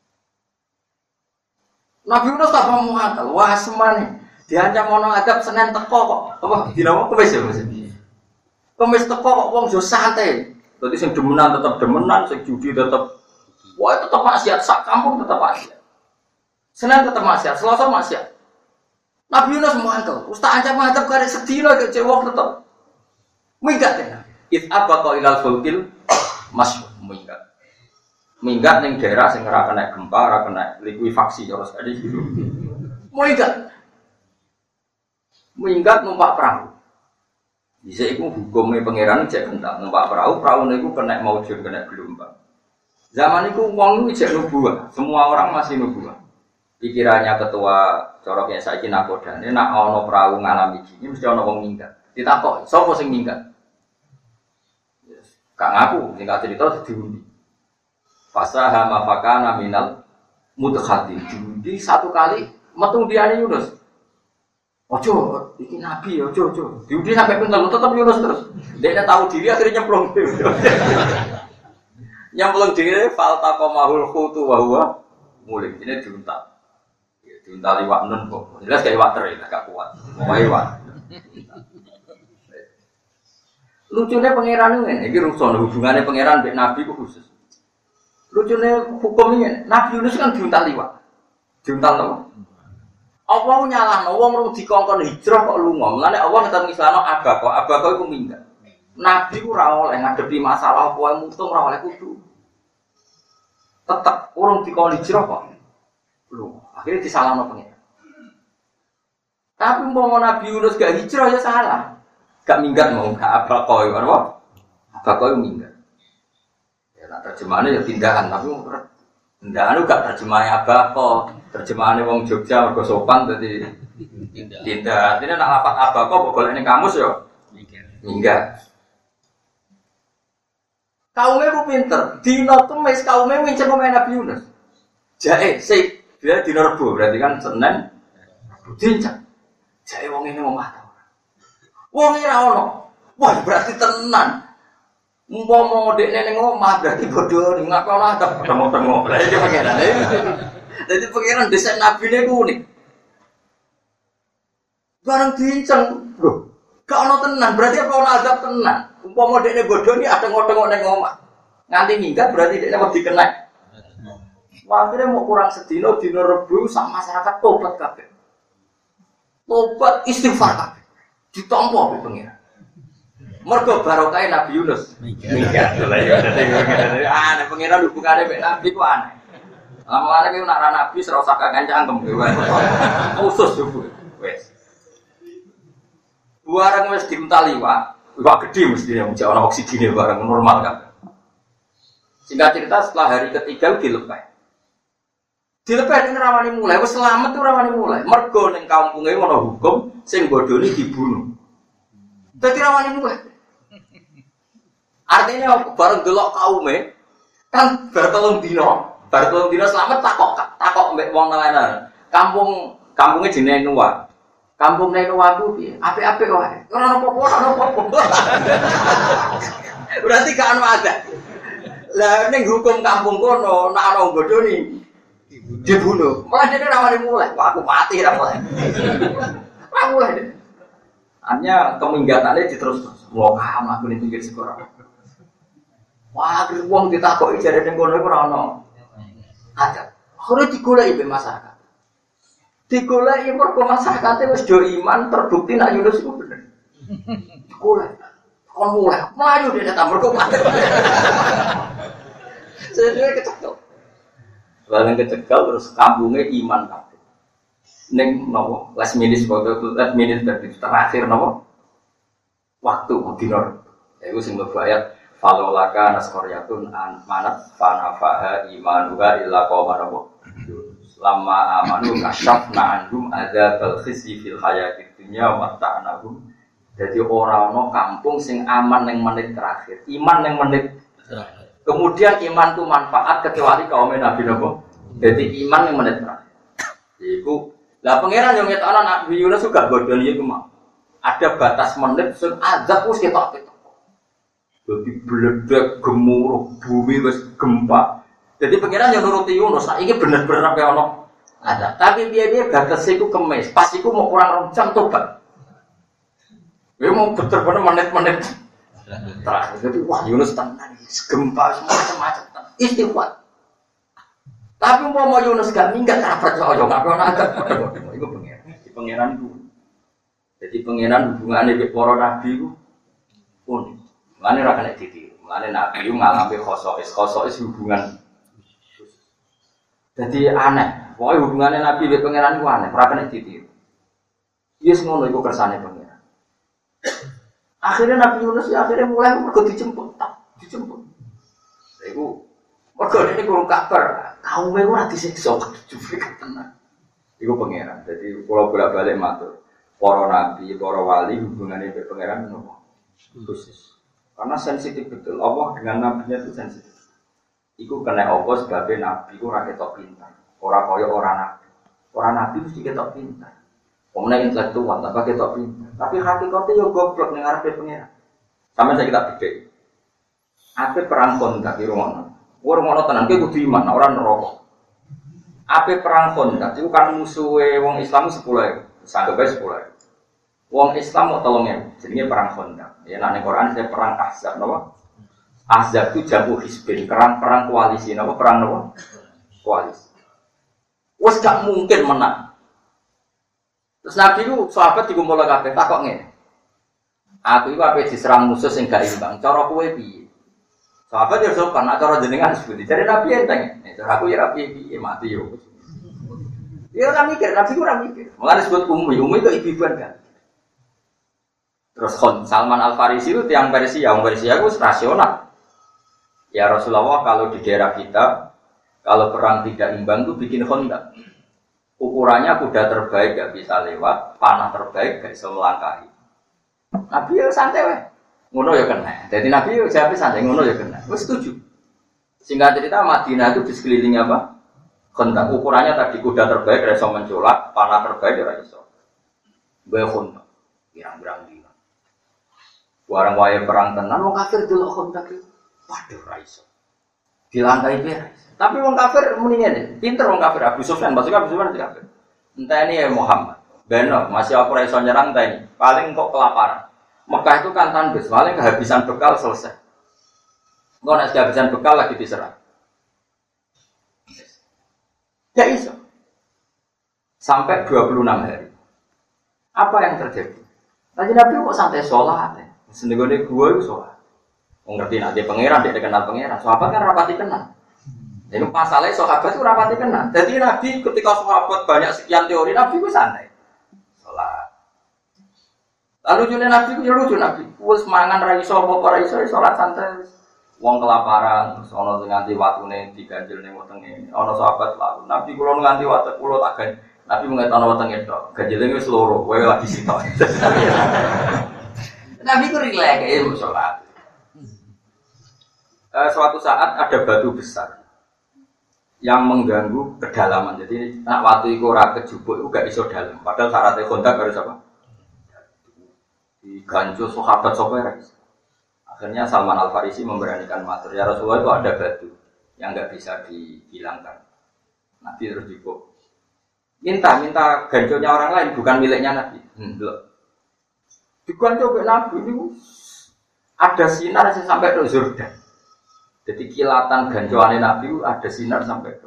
Nabi Yunus tak mau akal. Wah semane diancam ono adab Senin teko kok. Apa dina Kamis ya Mas? Kamis teko kok wong yo santai. Dadi sing demenan tetep demenan, sing judi tetep wah tetep maksiat sak kampung tetep maksiat. Senin tetep maksiat, Selasa maksiat. Nabi Yunus mangkel, ustaz ancam-ancam kare sedina ke cewek tetep. Minggat ya. If abaqa ilal fulkil masuk minggat. Minggat ning daerah sing ora kena gempa, ora kena likuifaksi terus ada gitu. Minggat. Minggat numpak perahu. Bisa iku hukumnya pangeran cek kental numpak perahu, praune iku kena maujud kena gelombang. Zaman iku wong iku cek nubuah, semua orang masih nubuah. Pikirannya ketua coroknya saiki nakodane nak ana perahu ngalami gini mesti ana wong minggat. Ditakok, sapa sing minggat? Yes. Kak ngaku, singkat cerita diundi. Fasaha mafakana minal mudkhati. Diundi satu kali metu diane Yunus. Ojo, iki nabi ojo. Diundi sampai pinter tetep Yunus terus. Dia tahu diri akhirnya nyemplung. Nyemplung diri faltaqamahul khutu wa huwa mulik. Ini diuntal. Diuntal iwak nun kok. Jelas kayak iwak teri, gak kuat. Mau iwak. Lucunya pangeran ini rusuh hubungannya pangeran dengan nabi itu khusus. Lucunya hukumnya Nabi Yunus kan diuntal iwak. Diuntal apa? Allah nyalahno wong rung dikongkon hijrah kok lunga. Mulane Allah ngeteni islano abaqo iku minggat. Nabi ku ora oleh ngadepi masalah apa wae mutung ora oleh kudu. Tetep urung dikongkon hijrah kok. Lho, akhirnya disalahno pengen. Tapi umpama Nabi Yunus gak hijrah ya salah. Gak minggat mau gak abaqo apa? Abaqo minggat. Ya nak terjemahannya ya tindakan tapi tindakan gak terjemahannya abaqo. Terjemahannya wong Jogja mergo sopan dadi tindak. Dene nak lapat abaqo kok golek ning kamus ya minggat. Kaume ku pinter, dina Kamis kaume nginceng omahe Nabi Yunus. Jae sik dia dina Rebo berarti kan Senin dinceng. Jae wong ini omah ta ora. Wong ora ono. Wah berarti tenan. Umpama dekne ning omah berarti bodho ning ngapa ora tengok-tengok. Lah iki pangeran. Dadi pangeran desain nabine ku unik. Barang diinceng, lho. Gak ono tenan, berarti apa ono azab tenan. Umpama dekne bodho iki ada tengok-tengok ning omah. Nganti minggat berarti dekne wedi kena. Akhirnya mau kurang sedino dino Rebu sak masyarakat tobat kabeh. Tobat istighfar kabeh. Ditampa be pangeran. Mergo barokah Nabi Yunus. Minggat. Aneh pangeran hubungane mek Nabi ku aneh. Lama-lama ki nak Nabi ora usah kancangkem kowe. Khusus yo wis. Barang wis diuntali wak gede mesti yang ana oksigene barang normal kan. Singkat cerita setelah hari ketiga dilepas. Dilepas ning rawani mulai wis selamat tuh rawani mulai. Mergo ning kampunge ana hukum sing bodoni dibunuh. Dadi rawani mulai. Artinya bareng delok kaume kan bar 3 dina selamat takok mbek wong lain. Kampungnya jenenge Nuwa. Kampung Nuwa ku piye? Apik-apik wae. Ora ono apa-apa. Berarti gak ono ada. Lah ning hukum kampung kono nek ana bodoni dibunuh. Malah dene rawani mulai. Wah aku mati ra mulai. Ra mulai. Hanya keminggatannya diterus-terus. Lokam aku ning pinggir sekolah. Wah, wong ditakoki jare ning kono iku ora ono. Ada. Ora digoleki be masyarakat. Digoleki mergo masyarakate wis do iman terbukti nek Yunus iku bener. Digoleki. Kon mulai mlayu dene ta mergo mati. Sedene kecekel. Bareng kecekel terus kampungnya iman kabeh. Ning napa? Last minute terakhir napa? Waktu dinor. Ya iku sing mlebu falolaka naskoryatun an manat fanafaha imanuha illa qawman lama amanu kasyafna andum adzabal khizi fil hayatid dunya wa ta'nahum. Jadi orang kampung sing aman yang menit terakhir, iman yang menit terakhir. Kemudian iman itu manfaat kecuali kaum Nabi Nabi. Jadi iman yang menit terakhir. Iku lah pangeran yang ngetokno Nabi Yunus juga bodoh iku mau. Ada batas menit sing azab wis ketok. Jadi bledek gemuruh bumi wis gempa. Jadi pangeran yang nuruti Yunus, nah ini bener-bener apa ono ada. Tapi dia batas iku kemis, pas iku mau kurang jam tobat. Dia mau bener-bener menit-menit terakhir. Jadi wah Yunus tenang, gempa semua macam-macam. Istighfar. Tapi mau Yunus gak minggat rapat soalnya nggak pernah ada. Itu pangeran itu. Jadi pangeran hubungannya dengan para nabi itu unik. Mulane ora kena ditiru. Mulane nabi itu ngalami khosois hubungan. Jadi aneh. Pokoknya hubungannya nabi dengan pangeran itu aneh. Ora kena ditiru. Yes ngono iku kersane pangeran. Akhirnya Nabi Yunus ya akhirnya mulai mergo dijemput. Iku mergo ini kurang kabar. Kaum e ora disiksa jujur tenan. Iku pangeran. Jadi kula bolak-balik matur. Para nabi, para wali hubungannya dengan pangeran nopo? Khusus. Karena sensitif betul. Allah dengan nabinya itu sensitif. Iku kena Allah sebabnya nabi itu ora ketok pintar. Ora kaya ora nabi. Ora nabi mesti ketok pintar. Omne intelektual tak ketok pintar. Tapi hakikatnya yo goblok ning ngarepe pangeran. Sampe saya kita bedhe. Ape perang Khandaq iki rumono. Ora ngono tenan ki kudu iman, ora neraka. Ape perang Khandaq iku kan musuhe wong Islam 10.000. Sanggep ae 10.000. Wong Islam mau 3.000. Jenenge perang Khandaq. Ya nek ning Quran saya perang Ahzab napa? Ahzab itu jamu hisbin, perang koalisi napa? Perang napa? Koalisi. Wes gak mungkin menang. Terus Nabi itu sahabat dikumpul kabeh takok ngene. Aku iku ape diserang musuh sing gak imbang. Cara kowe piye? Sahabat ya sopan, nek cara jenengan sepundi. Jare Nabi enteng. Nek cara aku ya piye mati yo. Ya ora mikir, Nabi ora mikir. Mulane disebut ummi itu ibu-ibuan kan. Terus Salman Al-Farisi itu tiang Persia, orang Persia itu rasional. Ya Rasulullah kalau di daerah kita, kalau perang tidak imbang itu bikin Khandaq. Ukurannya kuda terbaik gak bisa lewat, panah terbaik gak bisa melangkahi. Nabi ya santai weh, ngono ya kena. Jadi Nabi ya jawab santai, ngono ya kena. Gue setuju. Singkat cerita Madinah itu di sekeliling apa? Khandaq. Ukurannya tadi kuda terbaik gak bisa mencolak, panah terbaik gak bisa. Gue Khandaq, pirang-pirang dina. Warang waya perang tenan, mau kafir dulu Khandaq itu. Waduh raiso. Dilangkai piye? Tapi wong kafir muni ngene, pinter wong kafir Abu Sufyan, maksudnya Abu Sufyan kafir. Entah ini ya Muhammad. Beno masih aku raiso nyerang entah ini. Paling kok kelaparan. Mekah itu kan tandus, paling kehabisan bekal selesai. Engko nek kehabisan bekal lagi diserang. Ya iso. Sampai 26 hari. Apa yang terjadi? Tadi Nabi kok santai sholat ya? Senegone gua itu sholat. Mengerti nanti pangeran, dia kenal pangeran. Sahabat kan rapati kenal. Jadi masalahnya sahabat itu rapati kenal. Jadi Nabi ketika sahabat banyak sekian teori, Nabi itu santai sholat. Lalu lucunya Nabi itu lucu Nabi. Wes mangan raiso apa raiso sholat santai. Wong kelaparan, ono nganti watune diganjel ning wetenge. Ono sahabat lalu Nabi kula nganti wate kula tak ganjel. Nabi mengatakan wetenge tok. Ganjele wis loro, kowe lagi sitok. Nabi ku rileks ya sholat. Suatu saat ada batu besar yang mengganggu kedalaman. Jadi nak waktu itu ora kejubuk itu gak iso dalam. Padahal syaratnya kontak harus apa? Diganjel sahabat sopir. Akhirnya Salman Al Farisi memberanikan matur, ya Rasulullah itu ada batu yang nggak bisa dihilangkan. Nabi terus dibuka. Minta ganjolnya orang lain, bukan miliknya Nabi. Diganjol ke Nabi itu ada sinar sampai ke Jordan. Jadi kilatan ganjolannya Nabi itu ada sinar sampai ke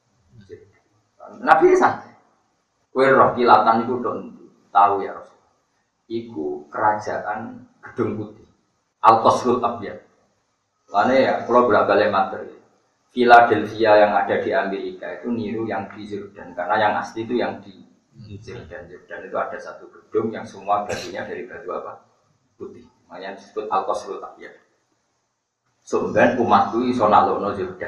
Nabi santai. Kowe roh kilatan itu tahu ya Rasul. Iku kerajaan Gedung Putih. Al-Qasrul Abyad. Karena ya, kalau bolak-balik materi, Philadelphia yang ada di Amerika itu niru yang di Jordan, karena yang asli itu yang di Jordan. Jordan itu ada satu gedung yang semua batunya dari batu apa? Putih. Makanya disebut Al-Qasrul Abyad. Sebenarnya umatku iso nalono Jordan.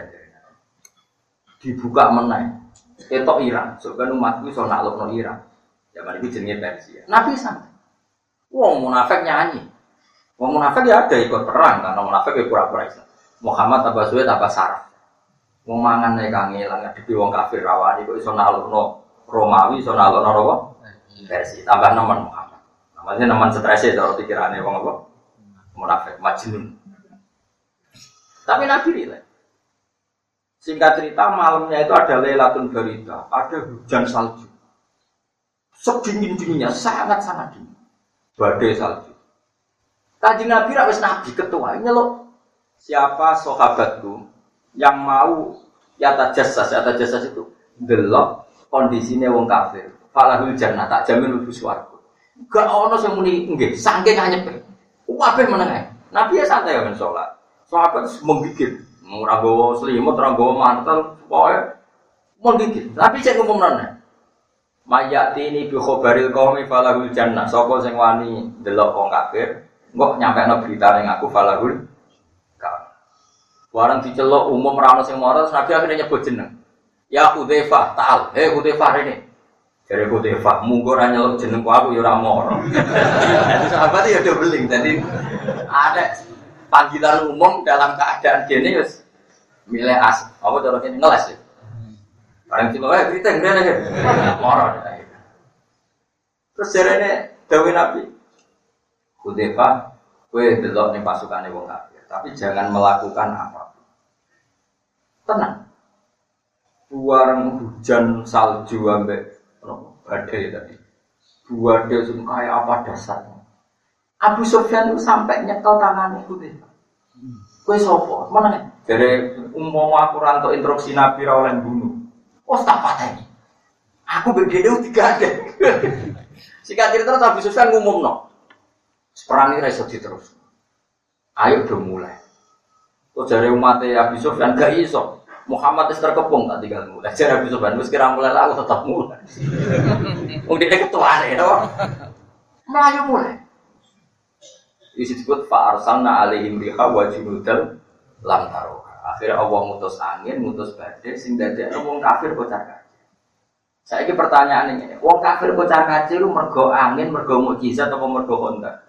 Dibuka meneh. Ketok Iran. Sebenarnya umatku iso nalono Iran. Zaman itu jenenge Persia. Nabi santai. Wong munafik nyanyi. Wong munafik ya ada ikut perang, karena munafik ya pura-pura Islam. Muhammad tambah suwe tambah saraf. Wong mangan nek kangelan ngadepi wong kafir rawani kok iso nalukno Romawi, iso nalukno apa? Versi tambah nemen Muhammad. Namanya nemen stres e cara pikirane wong apa? Munafik majnun. Tapi Nabi rileks. Singkat cerita malamnya itu ada Lailatul Barida, ada hujan salju. Sedingin-dinginnya sangat-sangat dingin. Badai salju. Kanjeng Nabi wis nabi ketua nyeluk siapa sahabatku yang mau yata jasas itu delok kondisine wong kafir falahul jannah tak jamin mlebu swarga gak ono sing muni nggih saking anyepe kabeh meneng Nabi ya santai men salat sahabat menggigit ora gowo selimut ora gowo mantel pokoke menggigit tapi sing umumane mayati ini bi khabaril qaumi falahul jannah sapa sing wani delok wong kafir kok nyampekno berita ning aku falahul ka. Warang diceluk umum ra ono sing mara Nabi akhirnya nyebut jeneng. Ya Hudzaifah, ta'al. Hudzaifah rene. Jare Hudzaifah, munggo ra nyeluk jenengku aku ya ora mara. Dadi sahabat ya do beling. Dadi ada panggilan umum dalam keadaan gene wis milih as. Apa cara kene ngeles ya. Barang celuk berita ngene ya. Mara. Terus jarene dawuh Nabi Hudzaifah, kowe delok ning pasukane wong kafir, tapi jangan melakukan apapun. Tenang. Buareng hujan salju ambek badai tadi. Badai sing kaya apa dasarnya. Abu Sufyan itu sampai nyekel tangannya Hudzaifah. Kowe sapa? Meneng. Jare umpama aku rantuk instruksi Nabi ra oleh bunuh. Oh tak pateni. Aku begede digandeng. Singkat cerita Abu Sufyan ngumumno. Perang ini iso diterus. Ayo udah mulai. Kok jare umat Abu Sufyan gak iso. Muhammad wis terkepung tak tinggal mulai. Jare Abu Sufyan wis kira mulai aku tetap mulai. Wong dhewe ketuane to. Melayu mulai. Disebut fa arsalna alaihim riha wa junudal lam taruha. Akhirnya Allah mutus angin, mutus badai sing dadekno wong kafir kocar-kacir. Saiki pertanyaan ini, wong kafir kocar-kacir lu mergo angin, mergo mukjizat apa mergo kontak?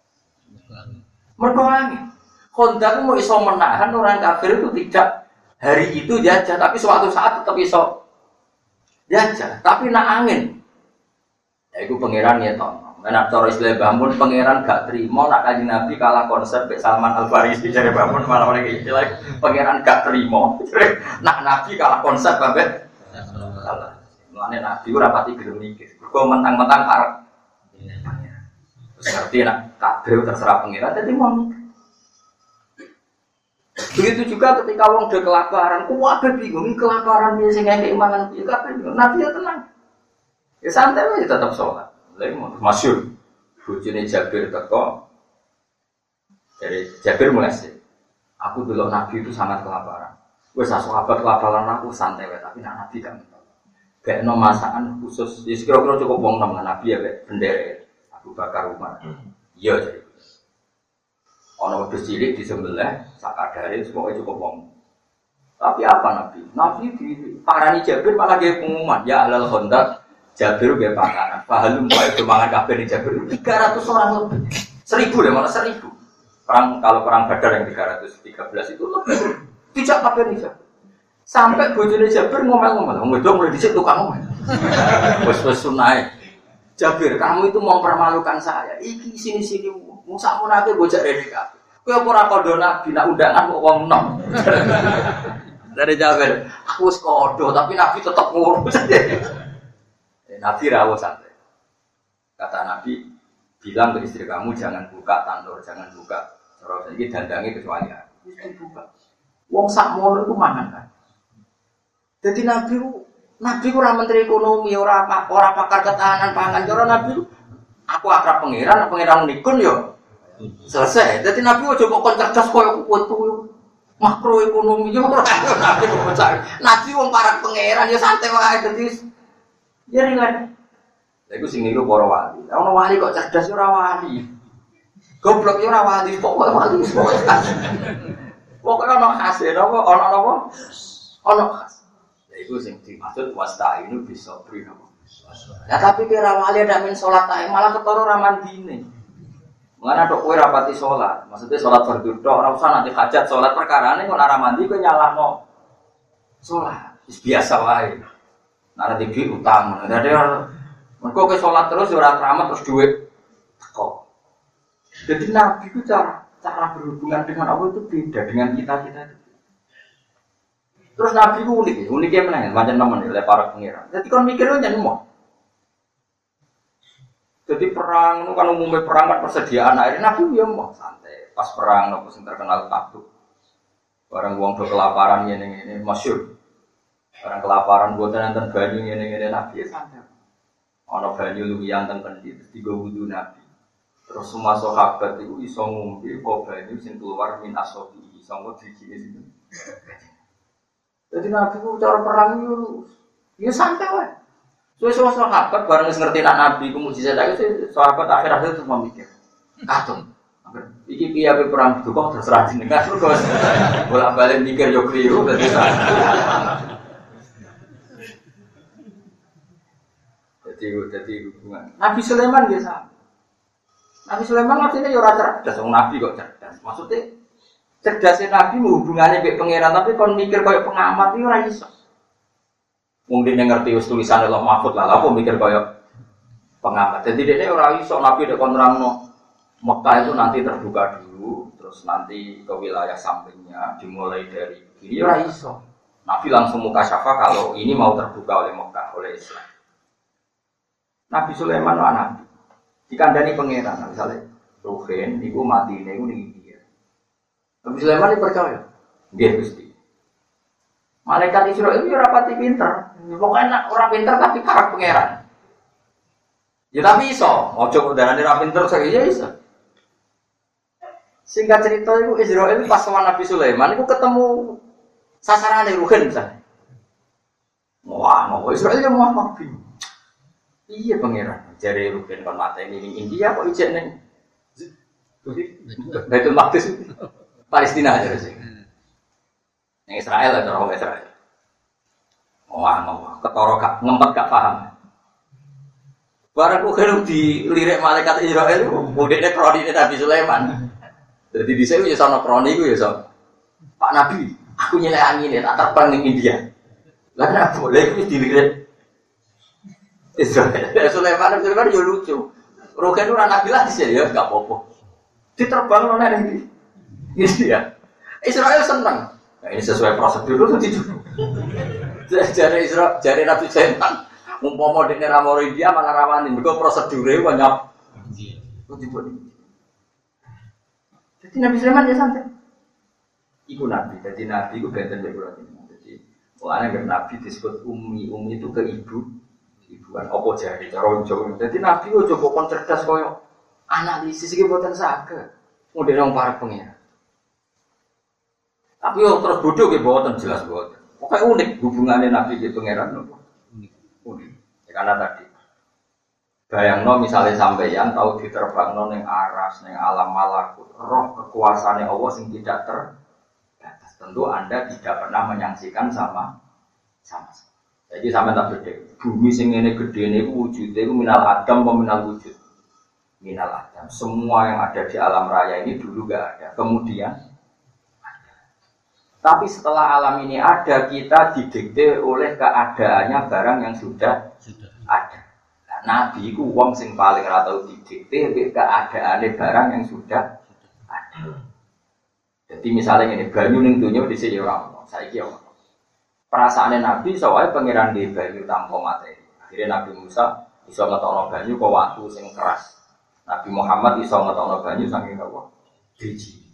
Mergo angin. Honda itu mau iso menahan orang kafir itu tidak hari itu jajah, tapi suatu saat tetap iso jajah. Tapi nak angin, ya itu pangeran ya toh. Nah, cara istilah bangun pangeran gak terima nak Kanjeng Nabi kalah konsep Mbak Salman Al Farisi dari bangun malah oleh istilah pangeran gak terima. Nak Nabi kalah konsep Mbak salah. Mulane Nabi ora pati gelem mikir. Kok mentang-mentang arep. Terus ngerti nak kabeh terserah pangeran dadi wong. Begitu juga ketika wong udah kelaparan, kuwabe bingung kelaparan dia sing ngekek mangan piye kabeh. Nabi ya tenang. Ya santai aja tetap sholat. Lagi masyhur bojone Jabir teko dari Jabir mulai sih. Aku dulu Nabi itu sangat kelaparan. Wes sahabat kelaparan aku santai wae tapi Nabi kan. Gak ono masakan khusus. Ya kira-kira cukup wong nang Nabi ya bendera Abu Bakar Umar. Iya jadi. Ono wedhus cilik disembelih sakadare semoga cukup wong. Tapi apa Nabi? Nabi di parani Jabir malah ge pengumuman ya alal khandaq Jabir be pakanan. Pahalum wae mangan kabeh di Jabir 300 orang lebih. 1000 deh malah 1000. Kalau perang Badar yang 313 itu lebih. Tidak kabeh di Jabir. Sampai bojone Jabir ngomel-ngomel. Wong wedok mulai dhisik tukang ngomel. Wes sunae. Jabir, kamu itu mau mempermalukan saya. Iki sini-sini mung sakmonake bojak rene kabeh. Kowe ora kandha Nabi nak undangan kok wong enom. Dari Jabir, aku wis kodo tapi Nabi tetap ngurus. Nabi rawuh santai. Kata Nabi, bilang ke istri kamu jangan buka tandur, jangan buka. Cara iki dandange kecuali aku. Wis dibuka. Wong sakmono iku mangan kan. Jadi Nabi ora menteri ekonomi, ora pakar ketahanan pangan. Cara Nabi aku akrab pangeran nikun yo. Selesai. Jadi Nabi ojo kok cerdas koyo kutu makroekonomi yo ora Nabi kok cari. Nabi wong para pangeran yo santai wae dadi ya ringan. Lha iku sing niru para wali. Ono wali kok cerdas ora wali. Goblok yo ora wali, kok wali. Pokoke ono khase, napa ono napa? Ono khas. Lha iku sing dimaksud wasta'inu bisabri napa. Ya tapi kira wali ada min salat ae malah ketara ra mandine. Mengana tok kowe rapati salat, maksudnya salat fardu tok ora usah nanti hajat salat perkarane kok ora mandi kowe nyalahno salat. Wis biasa wae. Nara tinggi utang, jadi mereka ke sholat terus, ora keramat terus duit kok. Jadi Nabi itu cara berhubungan dengan Allah itu beda dengan kita itu. Terus Nabi itu uniknya mana? Macam teman oleh para pengiran. Jadi kan mikirnya jangan mau. Jadi perang, kan umumnya perang kan persediaan air. Nabi dia mau santai. Pas perang, nopo sing terkenal takut. Barang uang kelaparan ini masyhur. Orang kelaparan buat nonton banyu ngene-ngene Nabi ya santai. Ana banyu luwihan teng kendi terus digo wudu Nabi. Terus semua sahabat itu iso ngombe kok banyu sing keluar min asobi iso ngombe dijine situ. Jadi Nabi ku cara perang itu ya santai wae. Suwe-suwe sahabat bareng wis ngerti nak Nabi ku mukjizat itu sahabat akhir-akhir terus memikir. Katon. Iki piye ape perang kok terserah jenengan terus bolak-balik mikir yo kliru dadi jadi hubungan. Nabi Sulaiman biasa. Nabi Sulaiman artinya ya ora cerdas, wong Nabi kok cerdas. Maksudnya cerdasnya Nabi hubungannya mbek pangeran tapi kon mikir koyo pengamat iki ora iso. Wong dene ngerti wis tulisan Allah Mahfud lah, apa mikir koyo pengamat. Jadi dene ora iso Nabi dek kon nerangno Mekah itu nanti terbuka dulu, terus nanti ke wilayah sampingnya dimulai dari kiri ora iso. Nabi langsung muka syafa kalau ini mau terbuka oleh Mekah, oleh Islam. Nabi Sulaiman itu anak dikandani pangeran, misalnya Ruhin, itu mati, itu dia. Nabi Sulaiman itu percaya, dia Gusti. Malaikat Israil itu rapati pinter, pokoknya orang pinter tapi karak pangeran. Ya tapi iso, ojo udah nanti orang pinter saya iso. Singkat cerita itu Israil pas sama Nabi Sulaiman itu ketemu sasaran dari Ruhin misalnya. Wah, mau Israil ya mau bingung. Iya pangeran, jari Ruben kon mate ini India kok ijek ning. Baitul Maqdis Palestina aja sih. Ning Israel lah orang Israel. Wah, ketara gak ngempet gak paham. Barang kok dilirik malaikat Israel itu budekne kronine Nabi Sulaiman. Jadi dhisik yo sono kroni iku yo so. Pak Nabi, aku nyelek angin tak terbang ning India. Lah kenapa boleh iku dilirik Sulaiman yo lucu. Rugen ora nabi lah sih ya enggak apa-apa. Diterbang nang ndi. Gitu ya. Israel seneng. Nah, ini sesuai prosedur itu jari Nabi Sulaiman umpama dekne ra moro India malah rawani mergo prosedure kok nyap. Jadi Nabi Sulaiman ya santai. Iku Nabi, jadi Nabi itu benten berkurang. Jadi mulanya kan Nabi disebut umi itu ke ibuan apa jadi cara Jawa. Jadi Nabi itu coba kon cerdas koyo analisis iki boten saged. Model wong para pengen. Tapi yo terus bodoh ge boten jelas boten. Pokoke unik hubungannya Nabi di pangeran nopo. Unik. Ya, karena tadi bayangno misalnya sampeyan tahu diterbangno ning aras ning alam malakut, roh kekuasaane Allah sing tidak terbatas. Tentu Anda tidak pernah menyaksikan sama. Jadi sampean tak beda. Bumi sing ngene gedene iku wujude iku minal adam apa minal wujud? Minal adam. Semua yang ada di alam raya ini dulu enggak ada. Kemudian tapi setelah alam ini ada, kita didikte oleh keadaannya barang yang sudah ada. Nah, Nabi itu wong sing paling ora tau didikte keadaane barang yang sudah ada. Jadi misalnya ini banyu ning donya dhisik ya ora ono, saiki ya ono. Perasaane Nabi soalnya pangeran di banyu tanpa materi. Akhirnya Nabi Musa iso ngetokno banyu kok watu sing keras. Nabi Muhammad iso ngetokno banyu saking apa? Biji.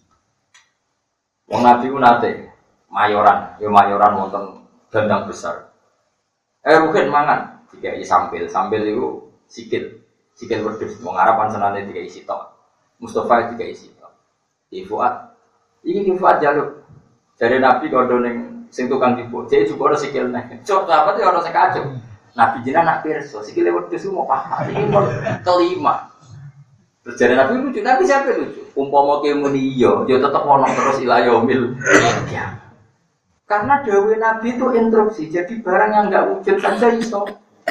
Wong Nabi ku nate mayoran wonten dandang besar. Rugen mangan dikai sambil itu sikil wedhus wong Arab senane dikai sitok. Mustofa dikai sitok. Di Fuad. Iki Fuad jaluk. Dari Nabi kondo ning sing tukang tipu, jadi juga ada sikil nek. Cok apa tuh orang sekacau. Nabi jinak nak pirsa, sikile wedhus mau papat. Iki kelima. Terus dari Nabi lucu, Nabi siapa lucu? Umpama ke muni yo tetap ono terus ilayomil. Ya. Karena dawe Nabi itu instruksi, jadi barang yang enggak wujud saja iso.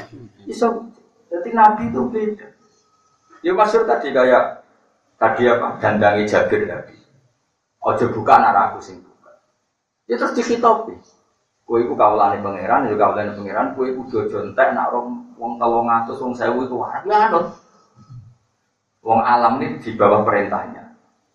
Jadi Nabi itu beda. Ya maksud tadi kayak apa? Dandangi Jabir tadi. Ojo buka anak aku sing buka. Ya terus dikitopi. Kowe iku kawulane pangeran, ya kawulane pangeran, kowe kudu aja entek nak wong 300 wong 1000 itu wae anut. Wong alam ini di bawah perintahnya.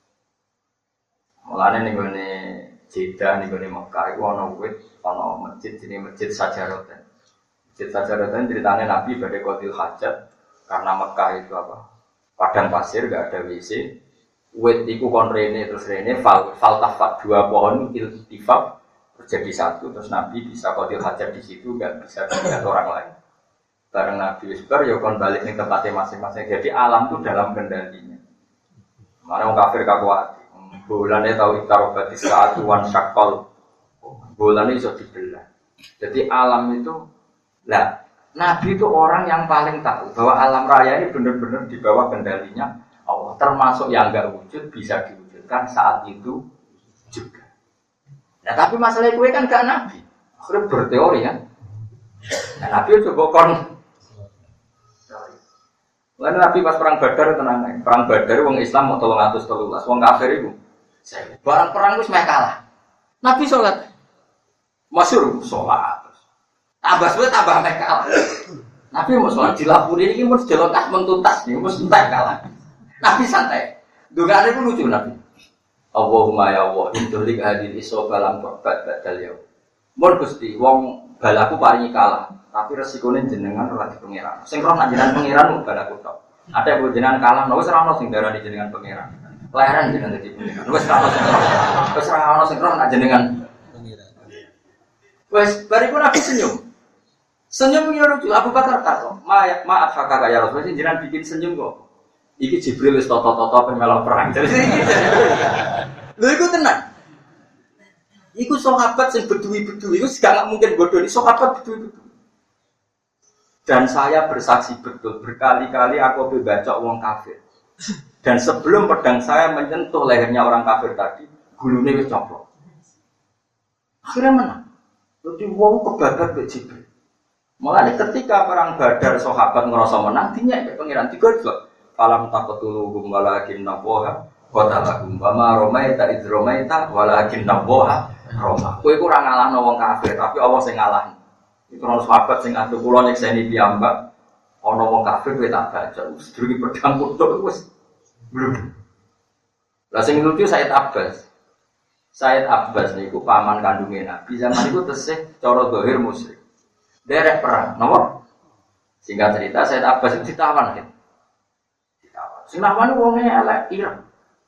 Mulane ning ngene Jeddah ning ngene Mekah iku ana wit, ana masjid jenenge Masjid Sajaroten. Masjid Sajaroten ceritane Nabi badhe qadil hajat karena Mekah itu apa? Padang pasir enggak ada WC. Wit iku kon rene terus rene faltafat dua pohon iltifaf terjadi satu terus Nabi bisa qadil hajat di situ enggak bisa dilihat orang lain. Bareng Nabi Wisbar ya kon balik ning tempatnya masing-masing. Jadi alam itu dalam kendalinya. Mana orang kafir kakuat. Bulannya tahu itarobatis keatuan syakol. Bulannya iso dibelah. Jadi alam itu, lah Nabi itu orang yang paling tahu bahwa alam raya ini benar-benar di bawah kendalinya Allah. Termasuk yang enggak wujud bisa diwujudkan saat itu juga. Nah tapi masalah gue kan gak Nabi. Akhirnya berteori kan. Nah, Nabi coba kon. Lalu Nabi pas perang Badar tenang. Perang Badar wong Islam mau 313, wong kafir itu. Barang perang wis meh kalah. Nabi sholat. Masyhur sholat. Tambah suwe tambah meh kalah. Nabi mau sholat dilapuri iki mesti jelontas mentuntas nih, mesti entek kalah. Nabi santai. Dungane ku lucu Nabi. Allahumma ya Allah, intulik hadil isofa lam korbat badal yaum. Mun Gusti wong balaku paringi kalah, tapi resikone jenengan ora di pangeran. Sing roh nak jenengan pangeran balaku tok. Ada yang jenengan kalah, wis ora ono sing darani jenengan pangeran. Leren jenengan dadi pangeran. Wis ora ono sing roh. Wis ora ono sing roh nak jenengan pangeran. Wis bariku Nabi senyum. Senyum yo lucu. Abu Bakar takok, "Maaf kakak ya Rasul, jenengan bikin senyum kok." Iki Jibril wis toto-toto ben melok perang. Jadi iki. Lho iku tenang. Iku sahabat sing bedui-bedui iku gak mungkin bodoni sahabat bedui-bedui. Dan saya bersaksi betul berkali-kali aku baca wong kafir. Dan sebelum pedang saya menyentuh lehernya orang kafir tadi, gulune wis coplok. Akhirnya menang. Jadi wong kebabat mbek Jibril. Mulane ketika perang Badar sahabat ngerasa menang, dinyek pengiran digojlok. Falam taqtuluhum walakin nawaha qatalahum wa ma ramaita id ramaita walakin nawaha rama. Kowe iku ora ngalahno wong kafir, tapi Allah sing ngalahno. Itu ono sahabat sing adu kula nyekseni piyambak ana wong kafir kowe tak baca sedurunge pedang kutuk wis belum. Lah sing lucu Said Abbas. Said Abbas niku paman kandungnya Nabi zaman itu tesih cara zahir musyrik. Derek perang, napa? Singkat cerita Said Abbas itu ditawan kan. Ditawan. Sing lawan wonge elek ireng.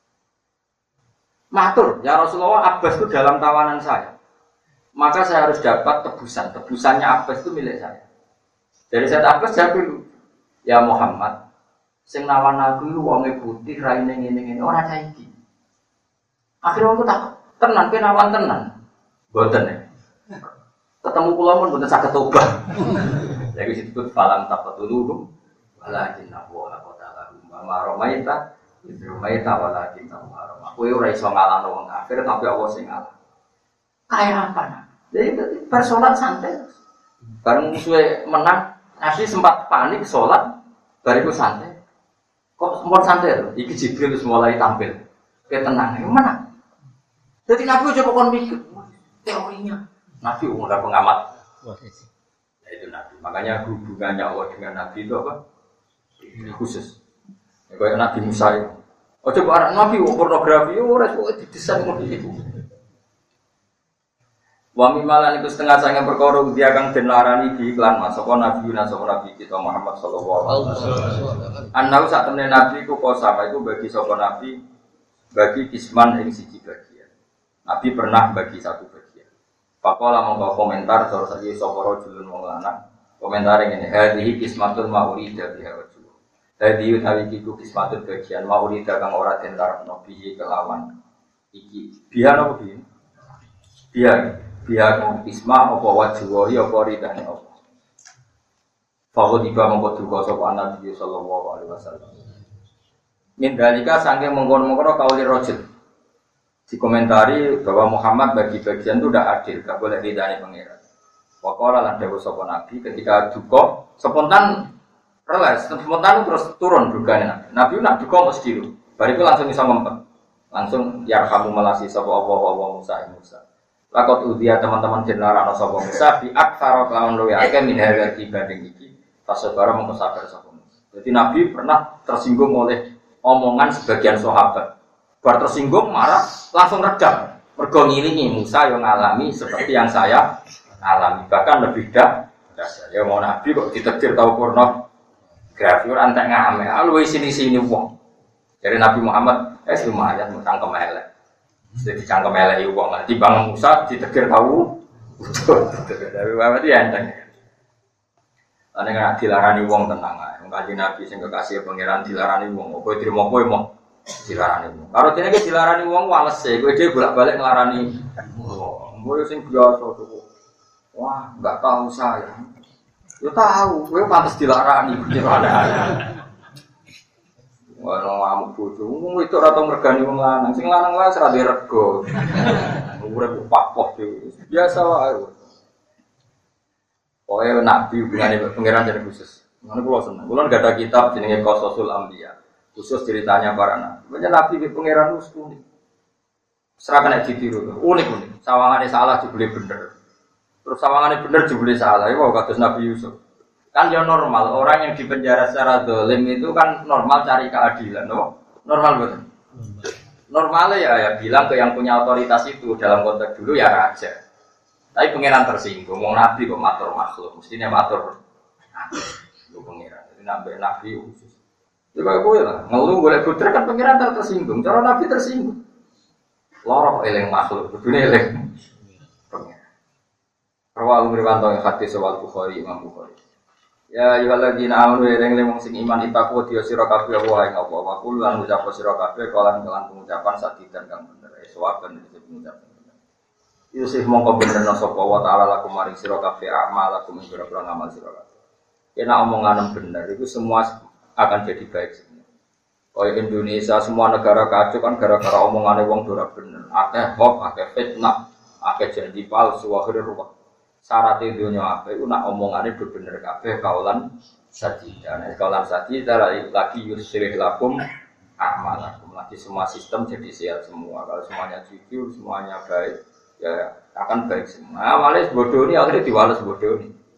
Matur, ya Rasulullah Abbas itu dalam tawanan saya. Maka saya harus dapat tebusan. Tebusannya Abbas itu milik saya. Dari Said Abbas jawab dulu. Ya Muhammad, sing lawan aku itu wonge putih, raine ngene-ngene ora cah iki. Akhirnya aku tak tenan kenawan tenan. Mboten ya. Ketemu kula pun mboten saged tobat. Jadi disebut falam taqatulu walakin Allah qatala ma romaita romaita walakin Allah. Kowe ora iso ngalahno wong kafir tapi Allah sing ngalah. Kayak apa nah? Jadi persoalan santai. Bareng musuhe menang, Nabi sempat panik sholat, bariku santai. Kok sempat santai loh? Iki Jibril terus mulai tampil. Kayak tenang, yang mana? Jadi Nabi coba kon mikir, teorinya. Nabi udah pengamat. Ya, itu Nabi. Makanya hubungannya Allah dengan Nabi itu apa? Ini khusus. Ya, kayak Nabi Musa itu. Oh coba Nabi pornografi, orang itu didesain model itu. Wami malan itu setengah sange perkara dia kang den larani di iklan mas sapa nabi Nabi kita Muhammad sallallahu alaihi wasallam. Anau sak temene nabi ku kosama itu bagi sapa nabi bagi kisman ing siji bagian. Nabi pernah bagi satu bagian. Pakola mongko komentar terus iki sapa rajulun wong lanang. Komentar ngene, hadhihi kismatun maurida biha rajul. Hadhihi utawi iku kismatun bagian maurida kang ora den karepno bihi kelawan iki. Biha napa bihi? Biha biar isma apa wajwahi apa ridane apa. Faqad iba mongko duka sapa Nabi sallallahu alaihi wasallam. Min dalika saking mengkon-mengkon kauli rajul. Dikomentari bahwa Muhammad bagi bagian itu tidak adil, gak boleh ridane pangeran. Waqala lan dawuh sapa Nabi ketika duka spontan relas, spontan terus turun dugane Nabi. Nabi nak duka mesti dulu. Bariku langsung bisa ngempet. Langsung yarhamu melasi sapa apa Musa. Lakot udia teman-teman jenara sapa Musa bi aktsara lawan luwe akeh min harga dibanding iki. Fasabara mongko sabar sapa Musa. Jadi Nabi pernah tersinggung oleh omongan sebagian sahabat. Bar tersinggung marah langsung redam. Mergo ngiringi Musa yang ngalami seperti yang saya alami, bahkan lebih dahsyat. Ya mau Nabi kok ditetir tau porno grafi ora entek ngame. Luwe sini-sini wong. Dari Nabi Muhammad lumayan mutang kemelek. Jadi cangkem elek wong lah timbang Musa ditegur tahu tapi berarti enteng. Ane nek dilarani wong tenang ae. Wong kanjeng Nabi sing kekasih pangeran dilarani wong, kowe trimo kowe mok dilarani wong. Karo dene iki dilarani wong wales e, kowe dhewe bolak-balik nglarani. Kowe sing biasa tuh. Wah, enggak tahu saya. Yo tahu, kowe pantes dilarani gimana. Wah, ngamuk bojo. Wong itu ora tau mergani wong lanang. Sing lanang wae ora dirego. Urip papoh dhewe. Biasa wae. Pokoke nabi hubungane pangeran jadi khusus. Ngono kula seneng. Kula enggak ada kitab jenenge Qasasul Anbiya. Khusus ceritanya para nabi. Banyak nabi ke pangeran unik. Serahkan nek ditiru. Unik. Sawangane salah jebule bener. Terus sawangane bener jebule salah. Iku kados Nabi Yusuf. Kan ya normal, orang yang dipenjara secara dolim itu kan normal cari keadilan, no? Normal betul. Normalnya ya bilang ke yang punya otoritas itu dalam konteks dulu ya raja. Tapi pangeran tersinggung, mau nabi kok matur makhluk, mestinya matur. Lu pangeran, jadi nabi khusus. Coba gue lah, ngeluh boleh putra kan pangeran tersinggung, cara nabi tersinggung. Lorok eleng makhluk, dunia eleng. Pangeran. Rawal Umriwanto yang hadis soal Bukhari, Imam Bukhari. Ya ayyuhalladzina amanu ring wong sing iman itaku dia sira kabeh wae ngapa wa kul lan ngucap sira kabeh kelan pengucapan sadidan kang bener sawaben iki pengucapan itu sih mongko benerno sapa wa taala lakum maring sira kabeh amalakum pira-pira ngamal sira kabeh yen omongan bener itu semua akan jadi baik semua kaya Indonesia semua negara kacau kan gara-gara omongane wong ora bener akeh hoax akeh fitnah akeh janji palsu akhire ruwet. Syarat dunia apa itu nak omongannya bener kabeh kaulan sajida. Nah kaulan sajida lagi yusrih lakum a'malakum. Lagi semua sistem jadi sehat semua. Kalau semuanya jujur, semuanya baik, ya akan baik semua. Awalnya bodoh ini akhirnya diwales bodoh ini.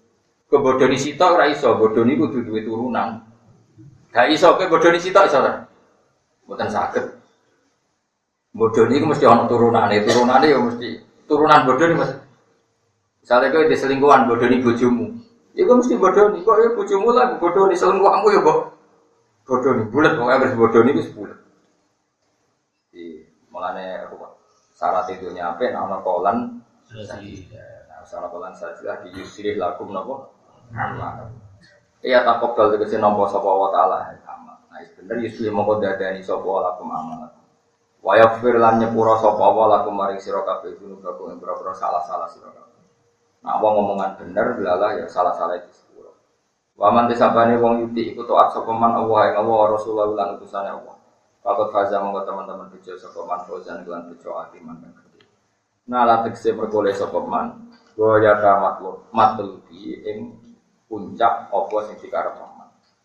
Kebodoni sitok ora iso, bodoni kudu duwe turunan. Gak iso kowe bodoni sitok iso ta? Mboten saged. Bodoni iku mesti ana turunane ya mesti turunan bodoni Mas. Misale kowe diselingkuhan bodoni bojomu. Iku mesti bodoni kok ya bojomu lah bodoni selingkuhanmu ya kok. Bodoni bulet kok harus bodoni wis bulet. Di mulane syarat itu nyampe ana kolan sajidah. Nah, salah kolan sajidah di yusrih lakum napa? Amal. Iya takobal tegese nampa sapa wa taala amal. Nah, bener yusli mongko dadani sapa lakum amal. Wa yaghfir lan nyepura sapa wa lakum maring sira kabeh gunuh-gunuh ing boro-boro salah-salah sira kabeh. Nah, wong ngomongan bener lala ya salah-salah itu sepuro. Wa man tisabane wong yuti iku taat sapa man Allah ing Allah Rasulullah lan utusane Allah. Pakot faza mongko teman-teman bejo sapa man fauzan lan bejo atiman kang gedhe. Nah, la tegese perkole sapa man wa ya matlubi ing puncak apa sing dikarep man.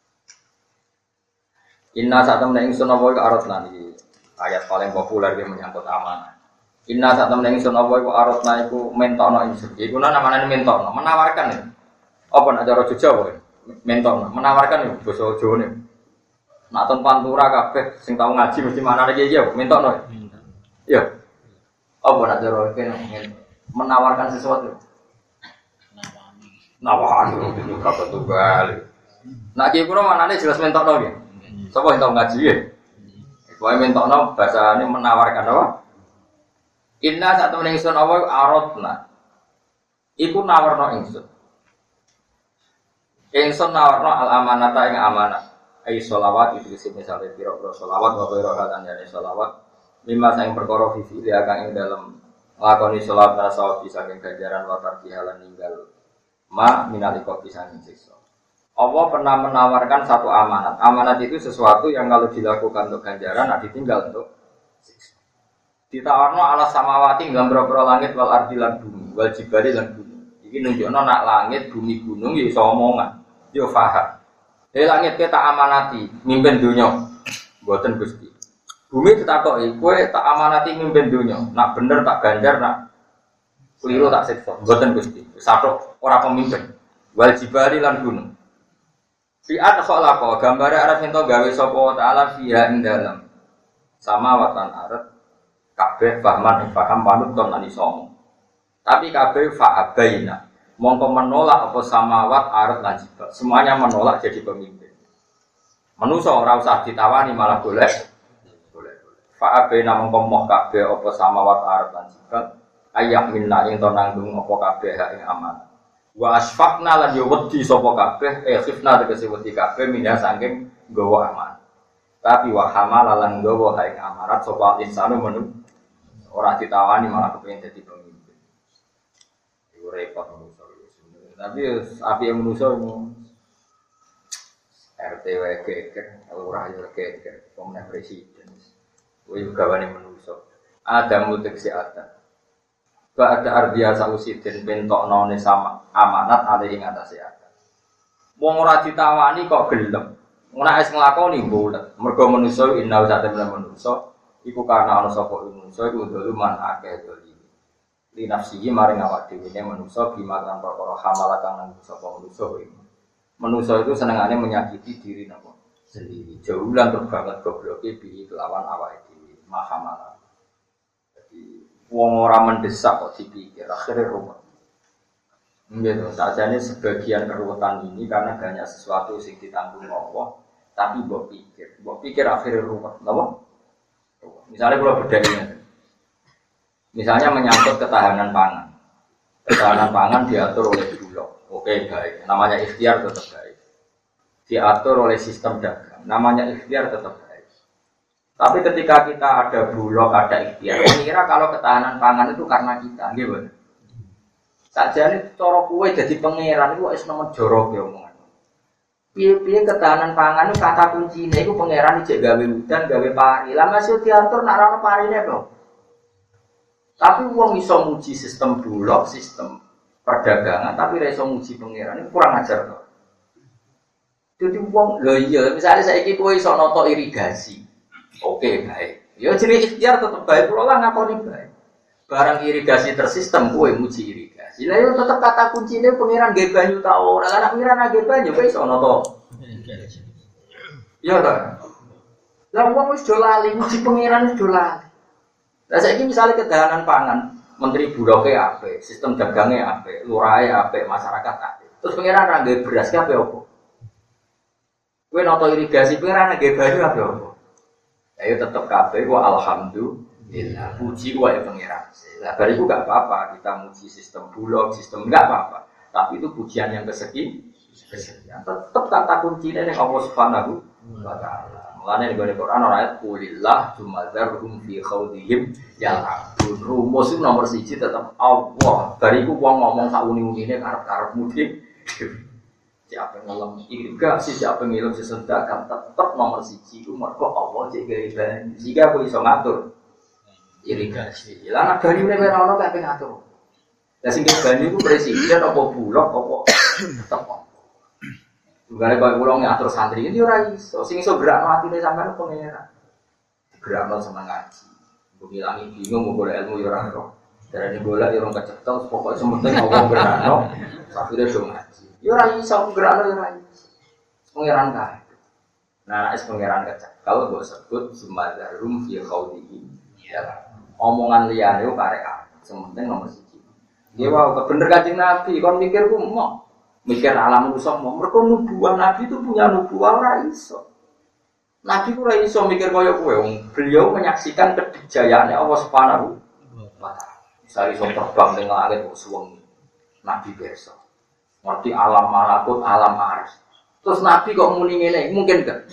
Inna satamna ingsun apa iku aratna iki ayat paling populer iki menyangkut amanah. Inna satamna ingsun apa iku aratna iku mentokno ingsun. Iku namane mentokno, menawarkan ya. Apa nek cara Jawa mentokno, menawarkan ya basa Jawane. Nek ten pantura kabeh sing tau ngaji mesti manane iki ya mentokno. Iya. Apa nek cara kene menawarkan sesuatu. Nawahan itu kata tunggal. Nak kiai kuno manane jelas mentokno nggih. Sapa sing tau ngaji nggih? Pokoke mentokno bahasane menawarkan apa? Inna satu ingsun apa aradna. Iku nawarno ingsun. Ingsun nawarno al amanata ing amanah. Ai sholawat itu misale pira-pira sholawat wa pira katan ya sholawat. Lima saing perkara fifi dia kang ing dalem lakoni sholawat rasa bisa saking ganjaran wa tarbihalan ninggal minalika pisan siksa. Allah pernah menawarkan satu amanat. Amanat itu sesuatu yang kalau dilakukan untuk ganjaran, ditinggal untuk siksa. Ditawarno ala samawati dalam berapa langit wal ardi lan bumi, wal jibali lan bumi. Iki nunjukno nak langit, bumi, gunung ya iso omongan. Yo faham. Langit kita amanati mimpin dunya. Mboten Gusti. Bumi ditakoki, kowe tak amanati mimpin dunya. Nak bener tak ganjar, nak keliru tak siksa. Mboten Gusti. Satu ora pemimpin. Wal jibali lan gunung. Fi adkhala gambare arep ento gawe sapa taala fiha ing dalem. Sama watan arep kabeh pahman paham panut ton lan iso. Tapi kabeh fa'abaina. Mongko menolak apa samawat arep lan jibal. Semuanya menolak jadi pemimpin. Manusa ora usah ditawani malah golek. Boleh. Fa'abaina mongko moh kabeh apa samawat arep lan jibal. Ayak minna ing to nanggung apa kabeh ing amanah. Wa asfaqna lan yo wedi sapa kabeh khifna tegese wedi kabeh minha saking nggawa amanah. Tapi wa hamala lan nggawa ing amarat sapa insanu menung ora ditawani malah kepengin dadi pemimpin. Iku repot manusa iki. Tapi api manusa iku RTW geger, lurah yo geger, pemenang presiden. Kuwi gawane manusa. Ada muteksi ada. Ba'da ardiya sausidin bentokno ne sama amanat ale ing atase ada. Wong ora ditawani kok gelem. Ora wis nglakoni bulet. Mergo manusa inna satamna manusa iku kana ana sapa manusa iku duluman akeh doli. Li nafsihi maring awak dhewe ne manusa bimakan perkara hamala kang sapa manusa iki. Manusa itu senengane menyakiti diri napa sendiri. Jaulan terbanget gobloke bi kelawan awake dhewe. Mahamala. Wong ora mendesak kok dipikir akhirnya rumah. Gitu, sajane sebagian keruwetan ini karena banyak sesuatu sing ditanggung Allah, tapi mbok pikir akhirnya rumah. Napa? Misalnya kalau bedanya, misalnya menyangkut ketahanan pangan. Ketahanan pangan diatur oleh Bulog. Oke, baik. Namanya ikhtiar tetap baik. Diatur oleh sistem dagang. Namanya ikhtiar tetap baik. Tapi ketika kita ada Bulog, ada ikhtiar, mengira kalau ketahanan pangan itu karena kita, gitu. Sajane cara kowe jadi pangeran iku wis nemen jorok ya omongan. Piye-piye ketahanan pangan itu kata kuncine iku pangeran iki gawe udan, gawe pari. Lah masih diatur nak ora parine to. Tapi wong iso muji sistem Bulog, sistem perdagangan, tapi ora iso muji pangeran itu kurang ajar to. Jadi wong lho iya, misalnya saiki kowe iso noto irigasi. Oke, baik. Ya jenis ikhtiar tetap baik, kalau lah ngakoni baik. Barang irigasi tersistem, kowe muji irigasi. Sila yo tetep kata kuncine pangeran nggih banyu ta ora. Lah nek pangeran nggih banyu wis ana to. Iya ta. Lah wong wis do lali muji pangeran wis do lali. Lah saiki misale kedahanan pangan, menteri buloke apik, sistem dagange apik, lurahe apik, masyarakat apik. Terus pangeran ra nggih beras ki apik opo? Kowe noto irigasi pangeran nggih banyu apik opo? Ayo tetep kabeh ku alhamdulillah. Puji wae pangeran. Lah bariku gak apa-apa kita muji sistem bulog, sistem enggak apa-apa. Tapi itu pujian yang kesekian. Tetep kata kuncinya ning Allah Subhanahu wa taala. Mulane ning Quran ora ayat qulillah tsumadzarhum fi khawdihim yal'abun. Rumus itu nomor 1 tetep Allah. Bariku wong ngomong sak uni-unine karep-karep mudik. Siapa ngelem irigasi, siapa ngelem sesedekah tetep nomor 1 ku mergo Allah cek gawe banyu. Jika aku iso ngatur irigasi. Lah nek banyune ora ono kok ngatur. Lah sing banyu ku presiden apa bulog apa tetep. Tunggal kok kula ngatur santri iki ora iso. Sing iso gerakno atine sampean pangeran. Gerakno seneng ngaji. Mbok ilangi bingung golek ilmu yo ora ero. Darane golek yo ora kecekel pokoke sementing Allah gerakno. Akhire do ngaji. Yo ora iso gerakno yo ora iso. Pangeran kae. Nah, nek pangeran kecekel kok sebut sumadarum fi khawdihi. Ya. Omongan liyane kok karek sementing nomor 1. Nggih wae bener Kanjeng Nabi kon mikirku mau mikir alam manusia mau mereka nubuah Nabi itu punya nubuah ora iso. Nabi ora iso mikir kaya kowe. Beliau menyaksikan kejayaan Allah Subhanahu wa taala. Misale iso terbang ning langit kok suwengi. Nabi biasa. Ngerti alam malakut, alam arsy. Terus Nabi kok muni ngene, mungkin gak?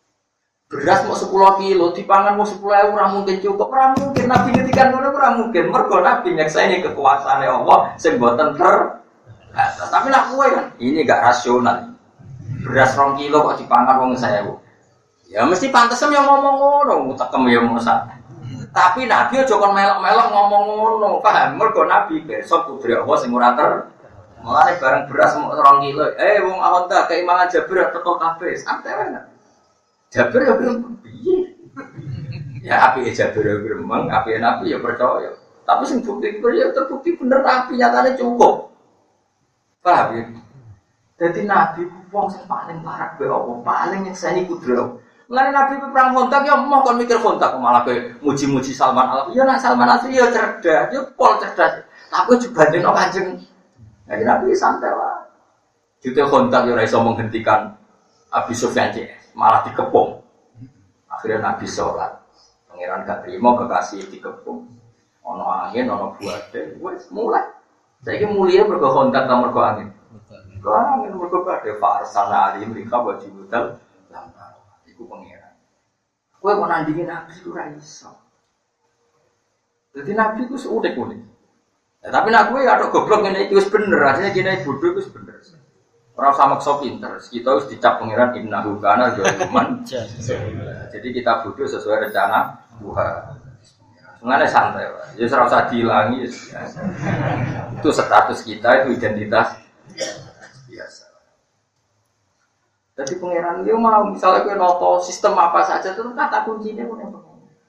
Beras mau 10 kilo, dipangan mau 10.000 ora mungkin cukup. Ora mungkin Nabi ngendikan ngono ora mungkin. Mergo Nabi nyakseni kekuasaane Allah sing boten tapi nak kue kan, ini gak rasional. Beras 2 kilo kok dipangan wong 1.000. Ya mesti pantesan yang ngomong ngono, tekem ya mosa. Tapi Nabi aja kon melok-melok ngomong ngono, paham? Mergo Nabi besok putri Allah sing ora mulane bareng beras 2 kilo. Wong awon ta keimangan Jabir teko kabeh. Santai wae. Jabir ya gremeng. Ya api Jabir ya gremeng, api Nabi ya percaya. Tapi sing bukti ya terbukti bener Nabi nyatane cukup. Paham ya? Jadi Nabi wong sing paling parah be Allah, paling nyekseni kudrat. Mulane Nabi perang kontak ya mau kon mikir kontak malah ke muji-muji Salman Al-Farisi. Ya nak Salman Al-Farisi ya cerdas, ya pol cerdas. Tapi dibandingno Kanjeng Nabi santai wae. Jute kontak ya ora iso menghentikan Abi Sufyan CS, malah dikepung. Akhirnya Nabi sholat. Pangeran gak terima kekasih dikepung. Ono angin, ono buade, wis mulai. Saiki mulia mergo kontak ta mergo angin. Mergo angin mergo badhe farsana alim rika wajib mutal. Iku pangeran. Kowe kok nandingi Nabi ora iso. Jadi Nabi ku unik-unik. Ya, tapi nak kowe ada goblok ngene iki wis bener, asline kene bodoh iku wis bener. Ora usah maksa pinter, kita wis dicap pangeran innahu kana dzaliman. Jadi kita bodoh sesuai rencana Tuhan. Mengenai santai, ya ora usah dihilangi. Itu status kita, itu identitas biasa. Jadi pangeran dia mau misalnya kowe noto sistem apa saja itu kata kuncinya pun apa.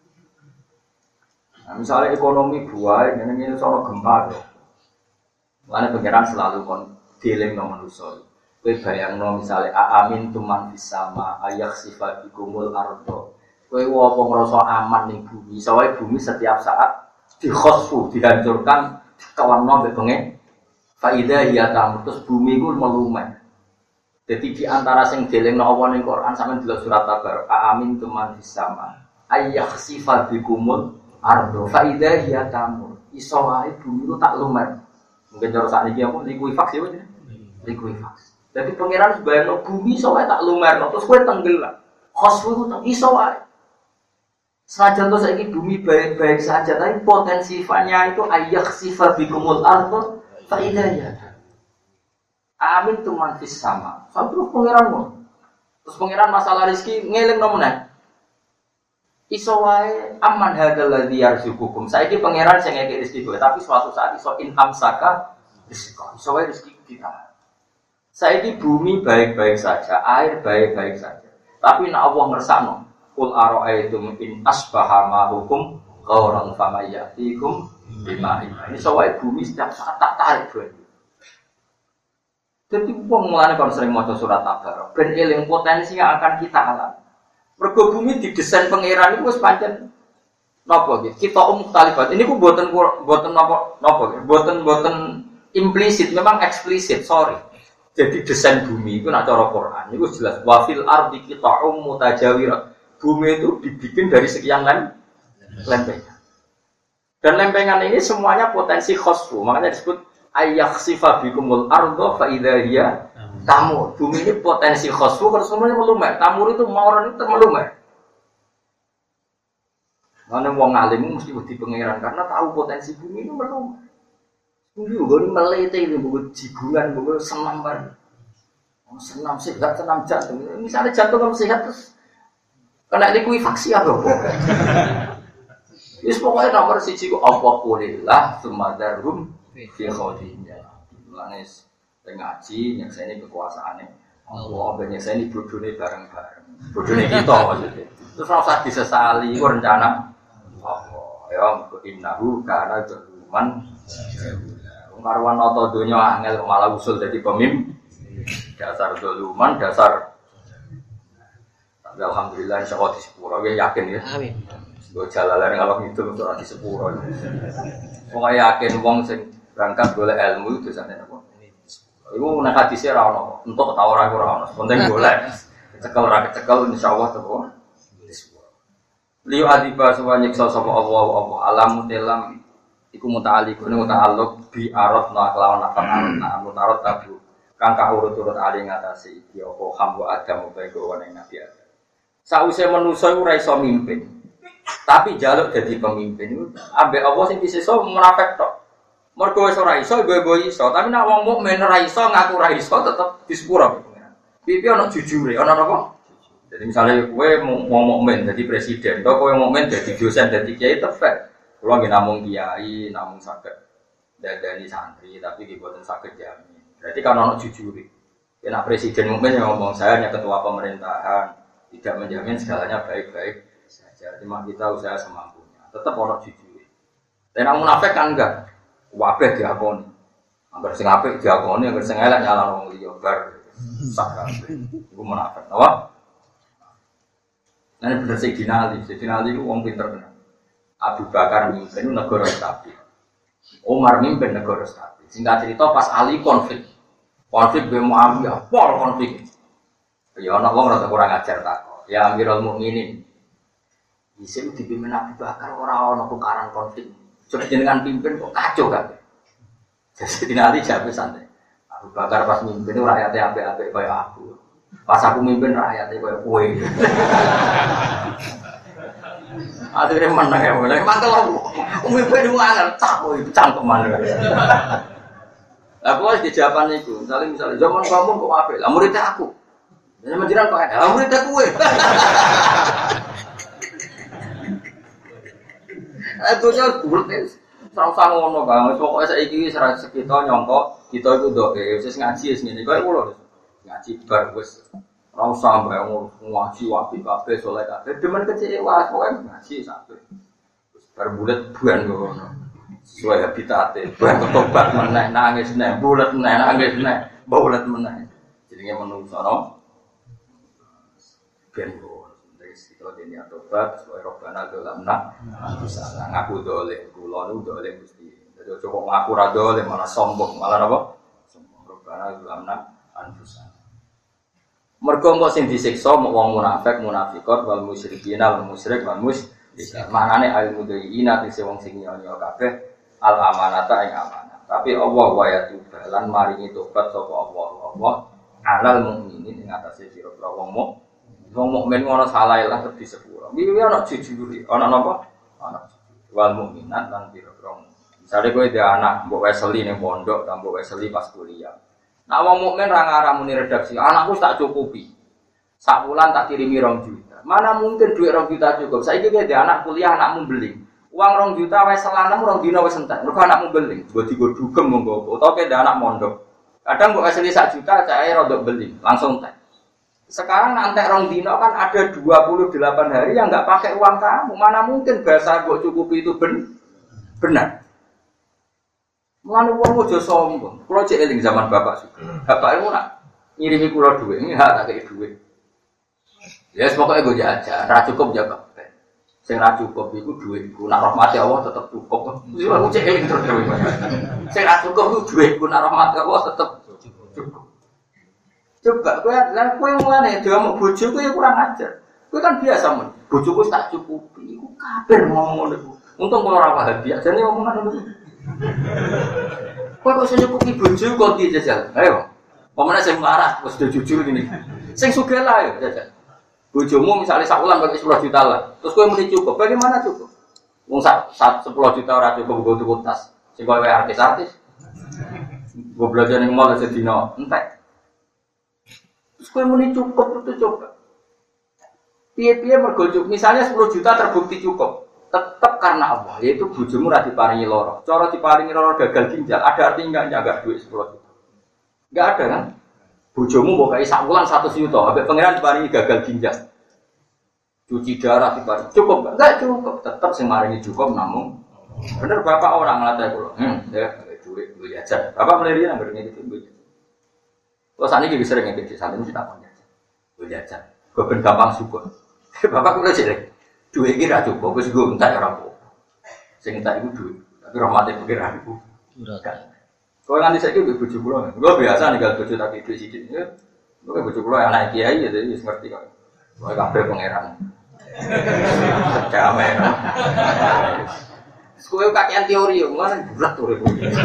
Nah, misalnya ekonomi buah, ini soal gempa dong. Karena pangeran selalu dealing dengan manusia. Kowe bayangno misalnya amin tuman bisama ayak sifat dikumul ardo. Kowe apa ngrasa aman ning bumi, soalnya bumi setiap saat dikhosfu, dihancurkan, dikelamno mbek pengen. Faida ya terus bumi ku melumet. Jadi di antara sing delengno Allah ning Quran sampeyan delok surat Tabarok, amin tuman bisama ayak sifat dikumul ardo. Faida ya tamur. Iso wae bumi ku tak lumet. Mungkin cara sakniki apa likuifaks ya. Likuifaks. Jadi pangeran sebayang bumi iso wae tak lumer, terus kowe tenggelam. Khosfu ku iso wae. Saja tuh saiki bumi baik-baik saja, tapi potensi sifatnya itu ayak sifat bikumul ardo faidahnya. Amin tuman fis sama. Sampai pangeranmu. Terus pangeran masalah rezeki ngeling nomene. Iso wae aman hadzal ladzi yarzuqukum. Saiki pangeran sing ngekek rezeki kowe, tapi suatu saat iso inhamsaka rezeki. Iso wae rezeki kita. Saiki bumi baik-baik saja, air baik-baik saja. Tapi nek Allah ngersakno Qul ara'aytum in asbaha ma'ukum Qauran famayatikum bima ini soal bumi setiap saat tak tarik banyu. Jadi wong mulane kon sering maca surat Tabarok ben eling potensi yang akan kita alami. Mergo bumi didesain pangeran iku wis pancen napa nggih? Kita mukhtalifat. Ini ku mboten napa nggih? Mboten implisit, memang eksplisit, sorry. Jadi desain bumi itu nak cara Quran itu jelas wa fil ardi qita'um mutajawirat. Bumi itu dibikin dari sekian lempengan. Dan lempengan ini semuanya potensi khosfu. Makanya disebut ayyakhsifa bikumul ardo fa idza hiya tamur. Bumi ini potensi khosfu kalau semuanya melumat. Tamur itu mauran itu melumat. Mana wong alim mesti wedi pangeran karena tahu potensi bumi ini melumat. Bumi ini melete ini buku jibungan, buku senam bar. Senam sehat, senam jantung. Misalnya jantung kamu sehat terus kena likuifaksi apa? Wis pokoknya nomor 1 ku apa kulillah sumadarhum fi khawdinya. Lanes ngaji nyekseni kekuasaane. Allah ben nyekseni bodhone bareng-bareng. Bodhone kita maksudnya. Terus ora usah disesali iku rencana Allah. Ya innahu kana zaluman. Marwan nata donya angel malah usul dadi pemimpin. Dasar zaluman, dasar. Alhamdulillah insyaallah di sepuro yakin ya. Amin. Gue jalalan kalau gitu untuk di sepuro. Wong yakin wong sing berangkat golek ilmu itu jane apa? Iku nek hadise ra ono, entuk ta ora ora ono. Penting golek. Cekel ra kecekel insyaallah teko di sepuro. Liu adiba suwa nyiksa sapa Allah alam telam iku muta'alliqun muta'alluq bi aradna kelawan nafan aradna mutarad tabu kang kaurut-urut ali ngatasi iki apa hamwa adam utawa gowane nabi Adam. Sause manusa iku ora iso mimpin. Tapi jaluk dadi pemimpin ambek Allah sing disesa munafik tok. Mergo wis ora iso ibu iso, tapi nek wong mukmin ora iso ngaku ora iso tetep disepuro. Pipi ana jujure, ana napa? Jadi misalnya kowe wong mukmin dadi presiden, atau kowe mukmin dadi dosen dadi kiai tefek. Kalau nggak namung kiai, namung sakit dadani santri, tapi dibuatin sakit jamin. Berarti kan orang jujur. Karena presiden mungkin yang ngomong saya hanya ketua pemerintahan, tidak menjamin segalanya baik-baik saja. Cuma kita usaha semampunya. Tetap orang jujur. Dan orang munafik kan enggak. Wabeh diakoni. Angger sing apik diakoni, angger sing elek nyalahno wong liya bar. Sak kabeh. Iku munafik. Apa? Nah, ini bener Sayyidina Ali. Sayyidina Ali itu orang pinter bener. Abu Bakar mimpin negara stabil. Umar mimpin negara stabil. Singkat cerita pas Ali konflik be Muawiyah, pol konflik. Ya ana wong rada kurang ajar ta. Ya Amirul Mukminin. Isin dipimpin Abu Bakar ora ana tukaran konflik. Coba jenengan pimpin kok kacau kabeh. Jadi Ali jawab santai. Abu Bakar pas mimpin rakyate apik-apik kaya aku. Pas aku mimpin rakyate kaya kowe. Akhirnya menang ya, menang. Mantel aku, mimpin itu angin, itu cangkeman. Aku harus dijawaban itu. Misalnya zaman kamu kok apa? Lah muridnya aku. Zaman jiran kok ada? Lah muridnya kue. Itunya bulat. Serang-serang ngono bang. Pokoknya saya ini sekitar nyongkok. Kita itu doa. Saya ngaji segini. Kau itu ngaji bagus. Ora usah mbak ngaji wapi kabeh saleh kabeh demen kecewa pokoke ngaji sampe terus bar bulet buan ngono sesuai habitate buan tobat meneh nangis meneh bulet meneh nangis meneh bulet meneh jenenge menungso no ben wis kita dene tobat sesuai robbana dolamna salah ngaku dole kula nu dole Gusti dadi aja kok ngaku ra dole malah sombong malah napa sombong robbana dolamna anfusana. Mergo engko sing disiksa wong munafik, munafikot wal musyrikin wal musyrik wal musyrik. Manane al mudhiina dise wong sing nyonya kabeh al amanata ing amanah. Tapi Allah wa yatuba lan maringi tobat sapa Allah alal mukminin ing atase sira-sira wong mukmin ngono salah lah terus disepuro. Iki ana jujure, ana napa? Ana wal mukminat lan sira-sira. Misale kowe dhe anak mbok weseli ning pondok, ta mbok weseli pas kuliah. Nah, wong mukmin ra ngaramuni redaksi. Anakku tak cukupi. Sak bulan tak kirimi 2 juta. Mana mungkin duit 2 juta cukup? Saiki ki ada anak kuliah, anakmu beli. Uang 2 juta wis selanem 2 dina wis entek. Mergo anakmu beli. Mbok digo dugem monggo. Utawa ki ada anak mondok. Kadang mbok asli 1 juta cae rodok beli, langsung entek. Sekarang nanti rong dino kan ada 28 hari yang nggak pakai uang kamu. Mana mungkin bahasa gue cukupi itu benar? Mulane wong aja sombong. Kulo cek eling zaman bapak suka. Bapak itu nak ngirimi kulo duit, ini hak tak kei duit. Ya pokoknya gue jajan, ra cukup jaga. Sing ra cukup iku duitku, nak rahmati Allah tetep cukup. Wis aku cek eling terus. Sing ra cukup iku duitku, nak rahmati Allah tetep cukup. Coba kowe mulane diomong bojoku ya kurang ajar. Kowe kan biasa men, bojoku tak cukupi, iku kabeh ngomong ngono iku. Untung kula ora paham biasa jane omongan ngono. Kowe kok nyukupi bojo kok ndi jajal? Ayo. Pemene sing marah wis jujur ngene. Sing sugih lah yo jajal. Bojomu misalnya sak wulan pakai 10 juta lah. Terus kowe muni cukup, bagaimana cukup? Wong 10 juta ora cukup nggo tuku tas. Sing kowe artis-artis. Gue belajar ning mall sedina entek. Terus kowe muni cukup itu coba. Piye-piye mergo cukup. Misalnya 10 juta terbukti cukup. Tetap karena Allah, yaitu bojomu ra diparingi loro. Cara diparingi loro gagal ginjal, ada artinya enggak jaga duit 10 juta. Enggak ada kan? Bojomu mbok kai sak wulan 100 juta, ambek pangeran diparingi gagal ginjal. Cuci darah diparingi. Cukup enggak cukup, tetap sing maringi cukup namun bener bapak orang nglatih kula. Ya duit gue jajan. Bapak mliri nang ngene iki duit. Kok saniki iki sering ngene iki sampeyan mesti tak jajan. Gue jajan. Gue ben gampang syukur. Bapak kula jelek. Duit iki ra cukup, wis gue entek ora apa. Sing entek iku duit. Tapi rahmate pengiran iku ora kan. Kok nganti saiki bojo kula. Kula biasa ninggal bojo tak duit sithik. Kok bojo kula anak kiai ya wis ngerti kok. Kok kabeh pengiran. Damai. Kowe kakean teori yo, ngono berat urip.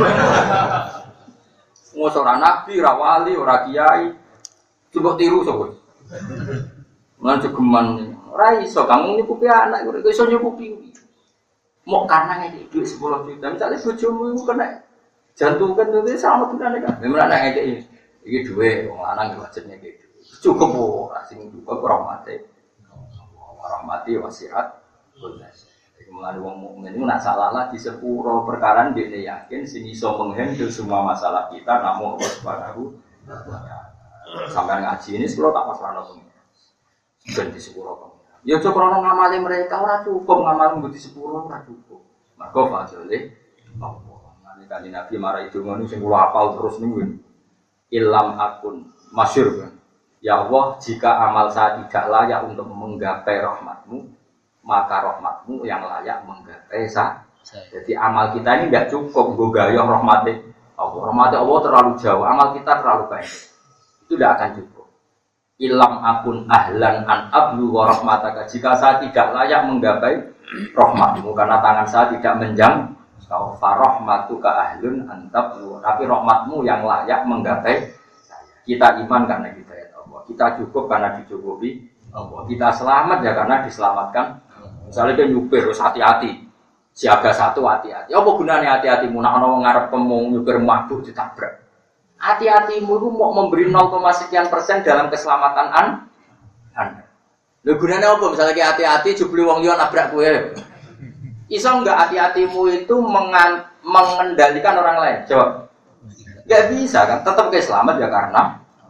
Wong ora nabi, ora wali, ora kiai. Coba tiru sapa. Lan cegeman. Ora iso kamu nyukupi anak kok iso nyukupi. Mok karena ngekek duit 10 juta. Misale bojomu iku kena jantung kan itu sama tunane kan. Memang anak ngekek iki duit wong lanang wajib ngekek duit. Cukup ora sing cukup rahmate. Rahmati wasiat kudas. Mulane wong mukmin iku nak salah di sepuro perkara ndekne yakin sing iso menghandle semua masalah kita namung Allah Subhanahu wa taala. Sampeyan ngaji ini kalau tak pasrahno pengen. Ben di sepuro. Ya aja krono ngamali mereka ora cukup ngamal nggo di sepuro ora cukup. Mergo fadhile Allah. Nanti kanjeng Nabi marah itu ngono sing kula hafal terus niku. Ilam akun masyhur kan. Ya Allah, jika amal saya tidak layak untuk menggapai rahmatmu, maka rahmatmu yang layak menggapai saya. Jadi amal kita ini tidak cukup nggogayoh rahmati Allah. Rahmati Allah terlalu jauh, amal kita terlalu baik. Itu tidak akan cukup. Ilam akun ahlan an ablu wa rahmataka. Jika saya tidak layak menggapai rahmatmu karena tangan saya tidak menjang, fa rahmatuka ahlun an tablu. Tapi rahmatmu yang layak menggapai saya. Kita iman karena kita ya Allah. Kita cukup karena dicukupi Allah. Kita selamat ya karena diselamatkan. Misalnya dia nyupir harus hati-hati. Siaga satu hati-hati. Apa gunanya hati-hatimu? Nak ono ngarep pemung nyupir mabuk ditabrak. Hati-hatimu itu mau memberi 0,sekian% dalam keselamatan Anda. Lho gunanya apa? Misalnya kayak hati-hati jebule wong liya nabrak kowe. Iso enggak hati-hatimu itu mengendalikan orang lain? Coba. Enggak bisa kan? Tetap ke selamat ya karena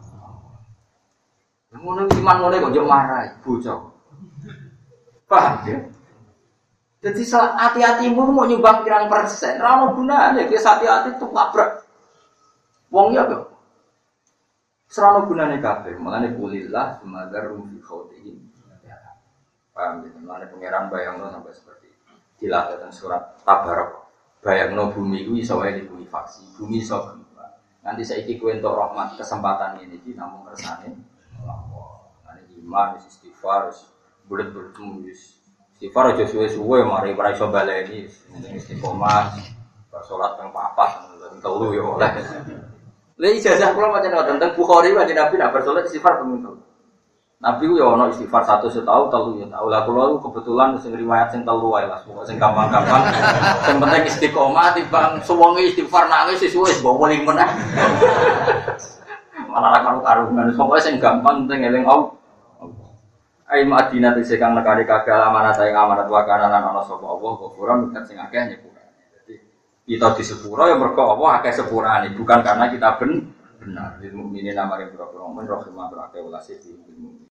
ngono iman ngono kok yo marah bocah. Paham ya? Jadi hati-hatimu mau nyumbang pirang persen, ora ono gunane, ki hati-hati tuh nabrak. Wong ya kok. Serana gunane kabeh, mulane kulillah sumadzarum fi khawtihim. Paham ya, mulane pangeran bayangno sampai seperti itu. Dilatihkan surat Tabarak. Bayangno bumi iku iso wae dikulifaksi, bumi iso gempa. Nanti saiki kowe entuk rahmat kesempatan ini iki namung kersane Allah. Mulane iman istighfar bulet-bulet istighfar aja suwe-suwe mari ora iso baleni istiqomah salat ping 4 telu ya oleh. Lha ijazah kula macam tentang Bukhari wae Nabi nak bersolat istighfar ping 3. Nabi ku ya ono istighfar 1 setahun telu ya tahu. Lah kula kebetulan sing riwayat sing telu wae Mas, pokoke sing gampang-gampang. Sing penting istiqomah timbang suwenge istighfar nangis wis bawa ning meneh. Malah karo-karuan pokoke sing gampang penting eling Allah. Ai Madinah te sekang nekane kagal amanat ing amanat wakana lan ana sapa Allah ghafuran nek sing akeh nyepura. Jadi kita di sepura ya mergo Allah akeh sepurane bukan karena kita benar. Lil mukminin amare pira-pira mukmin rahimah berake ulase di